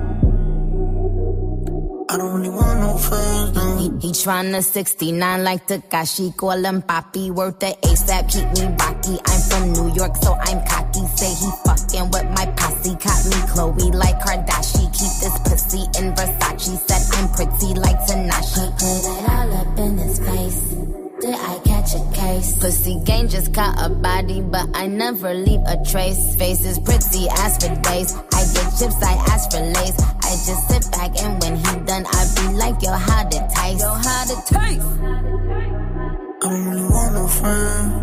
S12: I don't really want no friends, no.
S19: He, he tryna sixty-nine like Takashi, call him Papi, worth the ASAP, keep me rocky. I'm from New York, so I'm cocky. Say he fucking with my posse, caught me Chloe like Kardashian. Keep this pussy in Versace, said I'm pretty like Tanashi. Put it all up in his face. Did I catch a case? Pussy gang just caught a body, but I never leave a trace. Face is pretty, ask for days. I get chips, I ask for lace. I just sit back and when he done, I be like, yo, how to taste? Yo, how to taste?
S12: I don't really want no friends.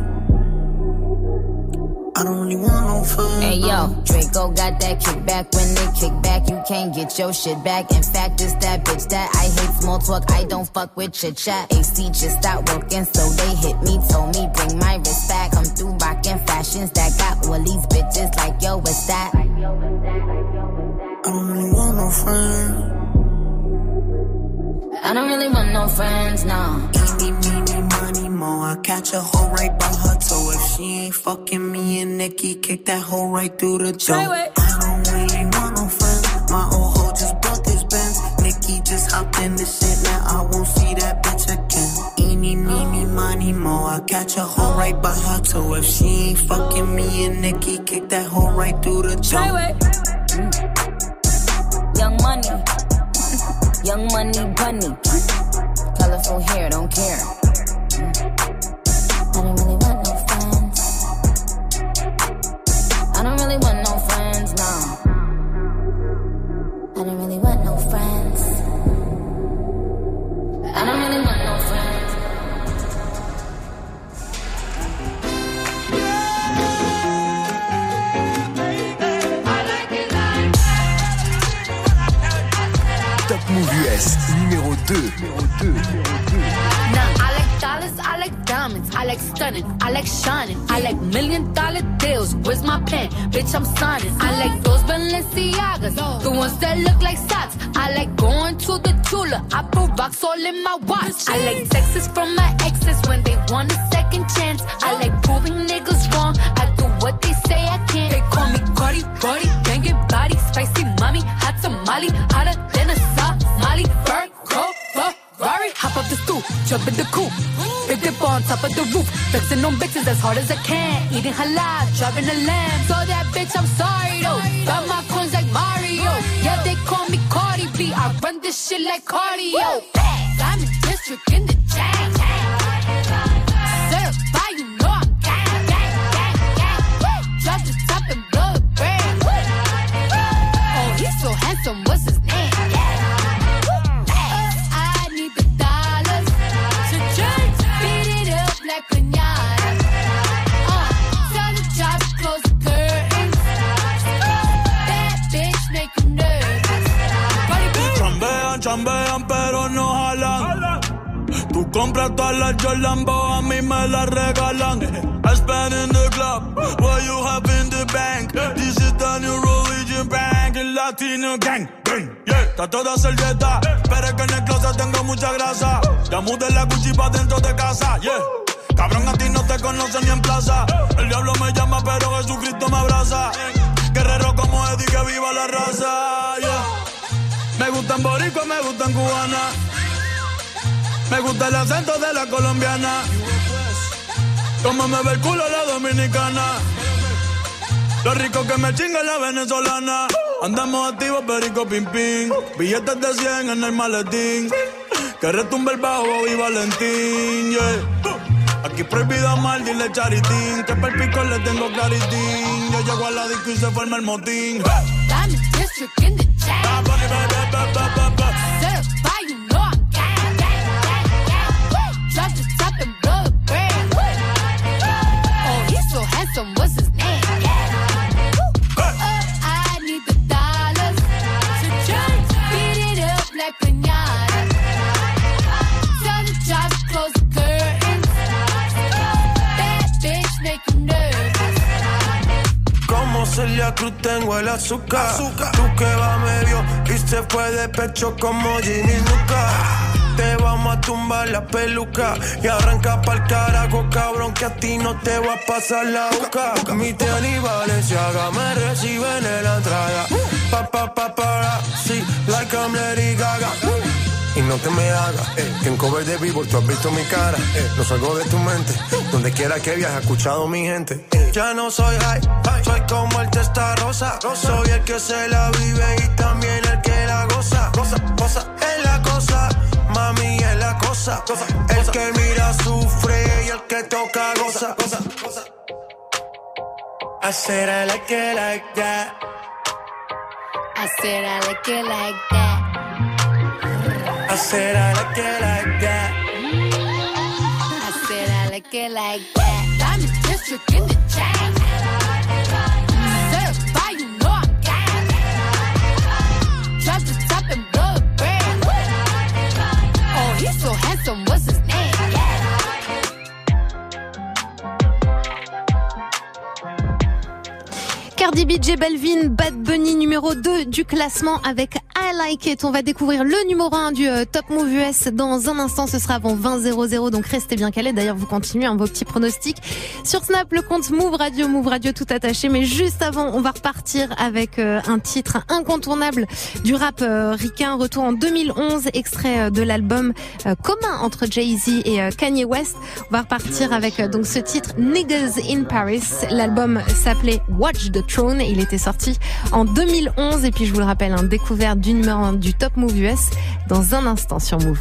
S12: I don't really want no friends.
S19: Hey yo, Draco got that kickback. When they kick back, you can't get your shit back. In fact, it's that bitch that I hate small talk. I don't fuck with chit chat. A C just stopped working, so they hit me. Told me bring my wrist back. Come through rockin' fashions that got all these bitches like yo, what's that?
S12: I don't really want no friends.
S19: I don't really want no friends, no.
S12: Eeny, meeny, money, mo. I catch a hoe right by her toe. If she ain't fucking me and Nikki, kick that hoe right through the door. I don't really want no friends. My old hoe just bought this Benz. Nikki just hopped in this shit, now I won't see that bitch again. Eeny, meeny, money, mo. I catch a hoe right by her toe. If she ain't fucking me and Nikki, kick that hoe right through the door.
S19: Mm. Young money. Young money bunny, colorful hair, don't care. I don't really want no friends. I don't really want no friends, no. I don't really want no friends. I don't really want no friends.
S2: Move U S numéro deux.
S20: Now I like dollars, I like diamonds, I like stunning, I like shining, I like million dollar deals. Where's my pen? Bitch, I'm signing. I like those Balenciagas, the ones that look like socks. I like going to the jeweler, I put rocks all in my watch. I like texts from my exes when they want a second chance. I like proving niggas wrong, I do what they say I can't. They call me Cardi, Cardi, banging body, spicy mommy, hot tamale, hotter than a Somali, bird, go, Ferrari. Hop up the stoop, jump in the coupe. Big dip on top of the roof. Flexing on bitches as hard as I can. Eating halal, driving a lamb. So that bitch, I'm sorry though. Got my coins like Mario. Yeah, they call me Cardi B. I run this shit like cardio. I'm in district in the chain. Certified, you know I'm gang, gang, gang, gang. Drop the top and blow the brand. Oh, he's so handsome, what's his name?
S21: Chambean pero no jalan. Tú compras todas las Jolambo, a mí me las regalan. I spend in the club, what you have in the bank. This is the new religion bank, el latino gang. Yeah, está toda servieta, pero es que en el closet tengo mucha grasa. Ya mudé la Gucci pa' dentro de casa, yeah. Cabrón, a ti no te conocen ni en plaza. El diablo me llama, pero Jesucristo me abraza. Guerrero como Eddie, que viva la raza. Yeah. Me gustan boricua, me gustan cubana. Me gusta el acento de la colombiana. Como me ve el culo la dominicana. Lo rico que me chinga la venezolana. Andamos activos, perico, pim, pim. Billetes de cien en el maletín. Que retumbe el bajo y Valentín, yeah. Aquí prohibido amar, dile charitín. Que per pico le tengo claritín. Yo llego a la disco y se forma el motín.
S20: Diamond District in the chat. Certified, you know I'm gang, gang, gang, gang. Drop the top and blow the brand. Oh, he's so handsome, what's his name? Uh, I need the dollars. So just beat it up like piñata. Tell the job to close the curtains. Bad bitch make him nervous.
S5: Como Celia Cruz tengo el azúcar. azúcar. Tú que va medio y se fue de pecho como Ginny Luca. Te vamos a tumbar la peluca y arranca pa'l carajo, cabrón, que a ti no te va a pasar la boca. Mi tenis Balenciaga me reciben en la entrada. Pa, pa, pa, para, sí, like I'm Lady Gaga. Y no te me hagas, eh, que en cover de Billboard tú has visto mi cara, eh, no salgo de tu mente, donde quiera que viajes, escuchado mi gente. Eh. Ya no soy high, soy como el testa rosa, soy el que se la vive y también el que la goza, goza, goza, es la cosa, mami es la cosa, cosa el cosa. Que mira sufre y el que toca goza, goza, goza. I said I like it like that.
S20: I said I like it like that.
S5: I said I like it like that.
S20: I said I like it like that. Diamond District in the chat. Certified, you know I'm gang. Drop the top and blow the brand. Oh, he's so handsome, what's his name?
S1: Cardi B, J Balvin, Bad Bunny numéro deux du classement avec I Like It. On va découvrir le numéro un du euh, Top Move U S dans un instant. Ce sera avant vingt zéro zéro, donc restez bien calés. D'ailleurs, vous continuez hein, vos petits pronostics. Sur Snap, le compte Move Radio, Move Radio tout attaché. Mais juste avant, on va repartir avec euh, un titre incontournable du rap euh, ricain. Retour en deux mille onze, extrait euh, de l'album euh, commun entre Jay-Z et euh, Kanye West. On va repartir avec euh, donc ce titre Niggas in Paris. L'album s'appelait Watch the Throne et il était sorti en deux mille onze. Et puis je vous le rappelle, un découverte du numéro un du Top Move U S dans un instant sur Move.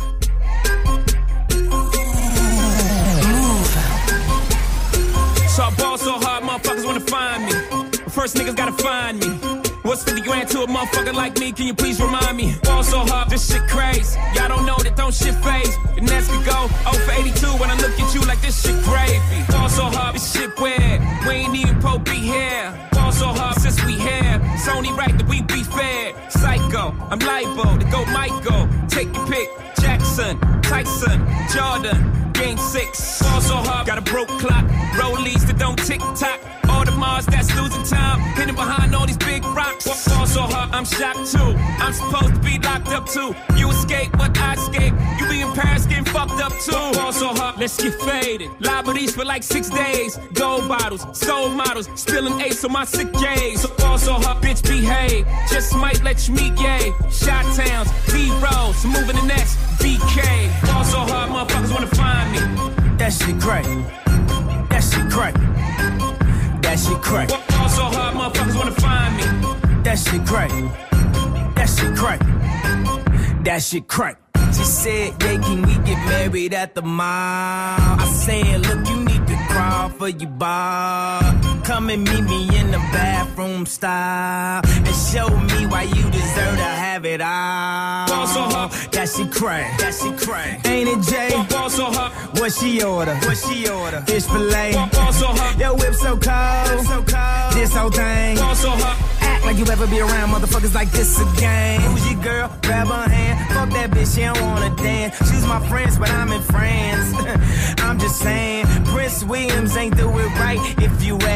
S7: So I ball so hard, motherfuckers wanna find me. First niggas gotta find me. What's fifty grand to a motherfucker like me? Can you please remind me? Ball so hard, this shit crazy. Y'all don't know that don't shit phase. The Nets could go oh for eighty-two when I look at you like this shit gravy. Ball so hard, this shit weird. We ain't even po be here. Ball so hard since we here. It's only right that we be fair. Psycho, I'm liable to go Michael. Take your pick. Jackson, Tyson, Jordan. Game six. Ball so hard, got a broke clock. Rollies that don't tick tock. All the Mars that's losing time. Hidden behind all these big rocks. Ball so hard, I'm shocked too. I'm supposed to be locked up too. You escape, but I escape. You be in Paris getting fucked up too. Ball so hard, let's get faded. Liberties for like six days. Gold bottles, soul models. Spilling ace on my sick days. So ball so hard, bitch behave. Just might let you meet gay. Shot towns, B-rolls, moving the next B K. Ball so hard, motherfuckers wanna find me.
S22: That shit crack. That shit crack. That shit crack.
S7: Ball so hard, motherfuckers wanna find me.
S22: That shit crack. That shit crack. That shit crack. She said, yeah, can we get married at the mall? I said, look, you need to crawl for your bar. Come and meet me in the bathroom style and show me why you deserve to have it all.
S7: Ball so hard.
S22: That shit crack. That shit crack.
S7: Ain't
S22: it, Jay?
S7: Ball so hot.
S22: What she order?
S7: What she order?
S22: Fish fillet.
S7: Ball so hot.
S22: Yo, whip so cold.
S7: Whip so cold.
S22: This whole thing.
S7: Ball so hot.
S22: Act like you ever be around motherfuckers like this again. Who's your girl? Grab her hand. Fuck that bitch, she don't wanna dance. She's my friends, but I'm in France. I'm just saying, Prince Williams ain't do it right if you ask me.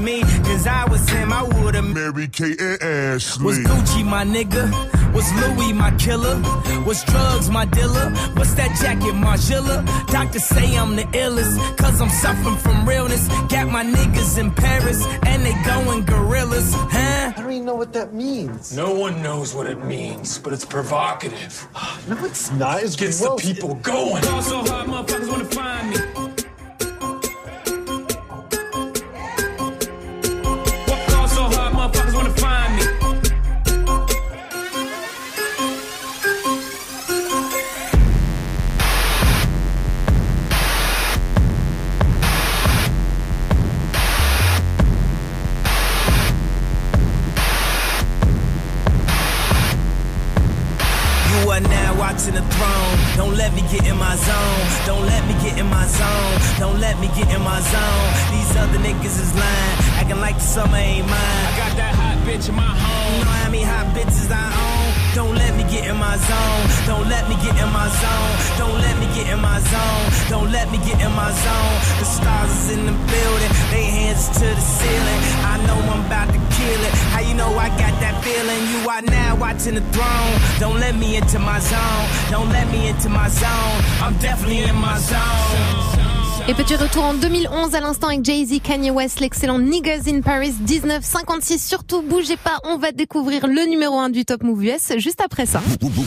S22: me, cause I was him, I would've
S17: Mary Kate and Ashley.
S22: Was Gucci my nigga? Was Louis my killer? Was drugs my dealer? What's that jacket, Margiela? Doctors say I'm the illest, cause I'm suffering from realness. Got my niggas in Paris, and they going gorillas, huh?
S8: I don't even know what that means.
S9: No one knows what it means, but it's provocative.
S8: No, it's not. It's
S9: gets
S8: gross.
S9: the people going.
S7: Fall so hard, motherfuckers wanna find me. Fall so hard, motherfuckers wanna find me.
S22: You are now watching the throne. Don't let me get in my zone. Don't let me get in my zone. Don't let me get in my zone. These other niggas is lying, acting like the summer ain't mine.
S7: I got that hot bitch in my home.
S22: You know how many hot bitches I own? Don't let me get in my zone. Don't let me get in my zone. Don't let me get in my zone. Don't let me get in my zone. The stars is in the building. They hands to the ceiling. I know I'm about to kill it. How you know I got that feeling? You are now watching the throne. Don't let me into my zone. Don't let me into my zone. I'm definitely in my zone.
S1: Et petit retour en deux mille onze à l'instant avec Jay-Z, Kanye West, l'excellent Niggas in Paris, dix-neuf cinquante-six. Surtout, bougez pas, on va découvrir le numéro un du Top Move U S juste après ça.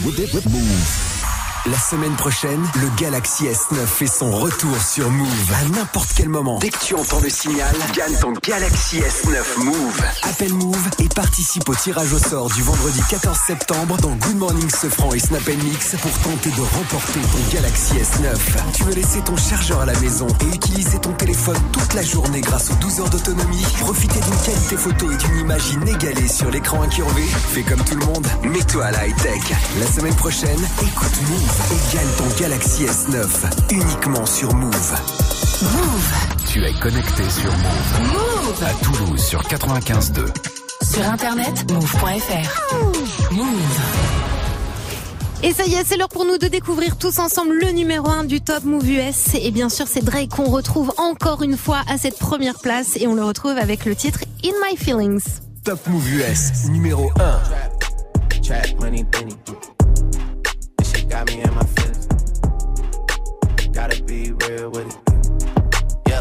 S2: La semaine prochaine, le Galaxy S neuf fait son retour sur Move. À n'importe quel moment, dès que tu entends le signal, gagne ton Galaxy S neuf Move. Appelle Move et participe au tirage au sort du vendredi quatorze septembre dans Good Morning Sofran et Snap and Mix pour tenter de remporter ton Galaxy S neuf. Tu veux laisser ton chargeur à la maison et utiliser ton téléphone toute la journée grâce aux douze heures d'autonomie, profiter d'une qualité photo et d'une image inégalée sur l'écran incurvé? Fais comme tout le monde, mets-toi à la high-tech. La semaine prochaine, écoute Move et gagne ton Galaxy S neuf uniquement sur Move.
S1: Move.
S2: Tu es connecté sur Move.
S1: Move.
S2: À Toulouse sur quatre-vingt-quinze deux.
S1: Sur internet, move point f r. Move. Et ça y est, c'est l'heure pour nous de découvrir tous ensemble le numéro un du Top Move U S. Et bien sûr, c'est Drake qu'on retrouve encore une fois à cette première place. Et on le retrouve avec le titre In My Feelings.
S2: Top Move U S, numéro un.
S13: Trap money, Benny. This shit got me in my feelings. Gotta be real with it. Yeah.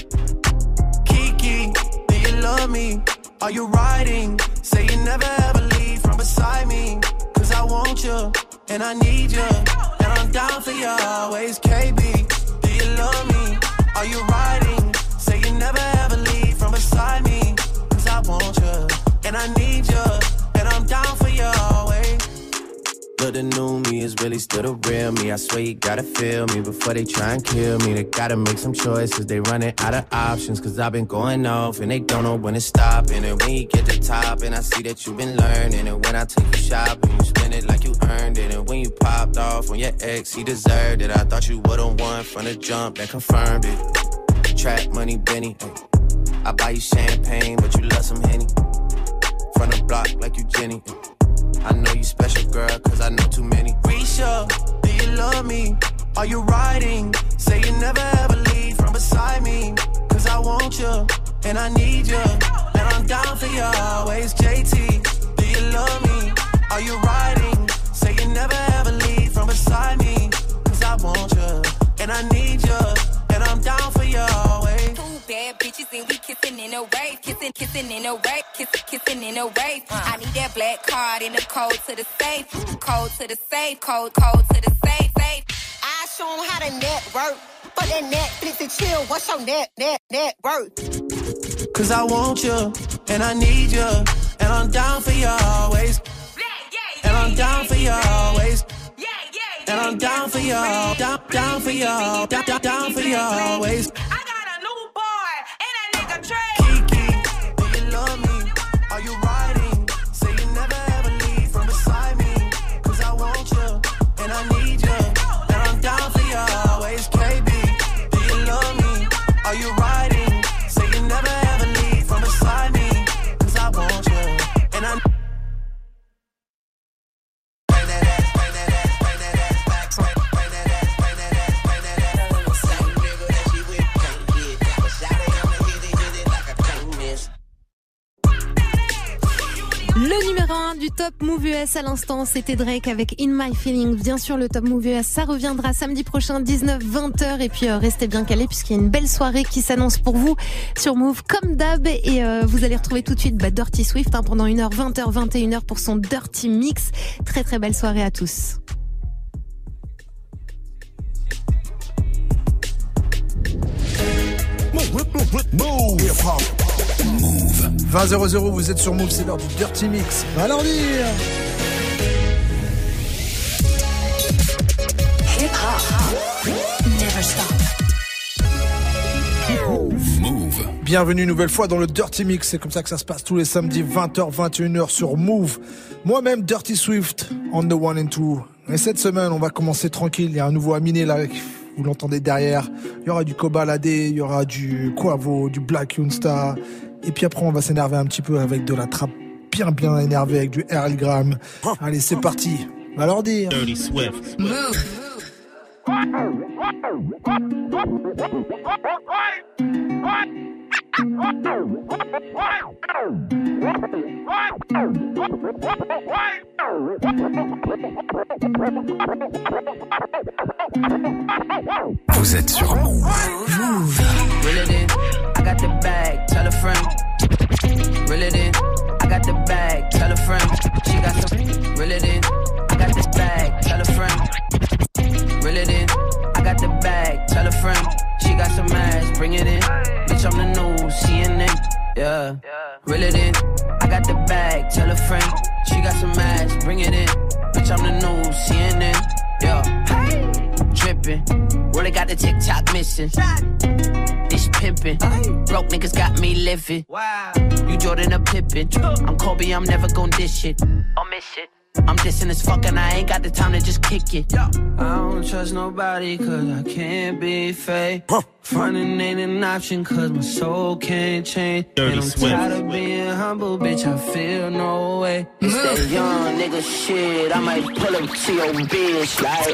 S13: Kiki, do you love me? Are you riding? Say you never ever leave from beside me. Cause I want you, and I need you. And I'm down for you always. K B, do you love me? Are you riding? Say you never ever leave from beside me. Cause I want you, and I need you. And I'm down for you always. But the new me is really still the real me. I swear you gotta feel me before they try and kill me. They gotta make some choices, they running out of options. Cause I've been going off and they don't know when to stop. And then when you get to the top and I see that you've been learning. And when I take you shopping, you spend it like you earned it. And when you popped off on your ex, he deserved it. I thought you would've won from the jump that confirmed it. Trap money, Benny. I buy you champagne, but you love some Henny. From the block like you Jenny. I know you special, girl, cause I know too many. Risha, do you love me? Are you riding? Say you never ever leave from beside me. Cause I want you, and I need you. And I'm down for you always. J T, do you love me? Are you riding? Say you never ever leave from beside me. Cause I want you, and I need you. And I'm down for you always.
S23: Bad bitches and we kissing in a wave, kissing, kissing in a wave, kissing, kissing in a wave. Uh. I need that black card in the code to the safe, code to the safe, code, code to the safe, safe.
S24: I show 'em how to network, but that Netflix and chill. What's your net, net, net worth?
S13: Cause I want you, and I need you, and I'm down for you always. And I'm down for you always. And I'm down for you, down, down for you, down, down, down for you always. Kiki, do you love me? Are you riding? Say you never ever leave from beside me. Cause I want you, and I need you. And I'm down for you always. K B, do you love me? Are you riding? Say you never ever leave from beside me. Cause I want you, and I
S1: Numéro un du Top Move U S à l'instant, c'était Drake avec In My Feelings. Bien sûr, le Top Move U S, ça reviendra samedi prochain, dix-neuf vingt heures. Et puis, euh, restez bien calés puisqu'il y a une belle soirée qui s'annonce pour vous sur Move comme d'hab. Et euh, vous allez retrouver tout de suite bah, Dirty Swift hein, pendant une heure, vingt heures, vingt et une heures pour son Dirty Mix. Très très belle soirée à tous.
S3: Move. vingt zéro zéro, vous êtes sur Move, c'est l'heure du Dirty Mix. Va leur dire.
S6: Hip hop, never stop.
S3: Move. Bienvenue une nouvelle fois dans le Dirty Mix. C'est comme ça que ça se passe tous les samedis, vingt heures, vingt et une heures sur Move. Moi-même, Dirty Swift, on the one and two. Et cette semaine, on va commencer tranquille. Il y a un nouveau Aminé là. Vous l'entendez derrière. Il y aura du Kobalade, il y aura du Quavo, du Black Youngsta. Et puis après, on va s'énerver un petit peu avec de la trappe bien, bien énervée avec du Earl Graham. Allez, c'est parti. Va leur dire.
S6: Dirty Swift. Move.
S2: Vous êtes sur Move.
S6: Move. Reel it in, I got the bag, tell a friend. Reel it in, I got the bag, tell a friend. She got some. Reel it in, I got the bag, tell a friend. Reel it in, I got the bag, tell a friend. She got some ass, bring it in. Bitch, I'm the new C N N. Yeah. Reel it in, I got the bag, tell a friend. She got some ass, bring it in. Bitch, I'm the new C N N. Yeah. Hey. Drippin', really got the TikTok missing. This pimpin', broke niggas got me living. Wow. You Jordan or Pippin', I'm Kobe, I'm never gon' dish it. I'll miss it. I'm dissing as fuck and I ain't got the time to just kick it. I don't trust nobody cause I can't be fake. Frontin' ain't an option cause my soul can't change.
S2: Dirty
S6: And I'm
S2: Swift.
S6: tired of being humble, bitch, I feel no way. It's that young nigga shit, I might pull up to your bitch like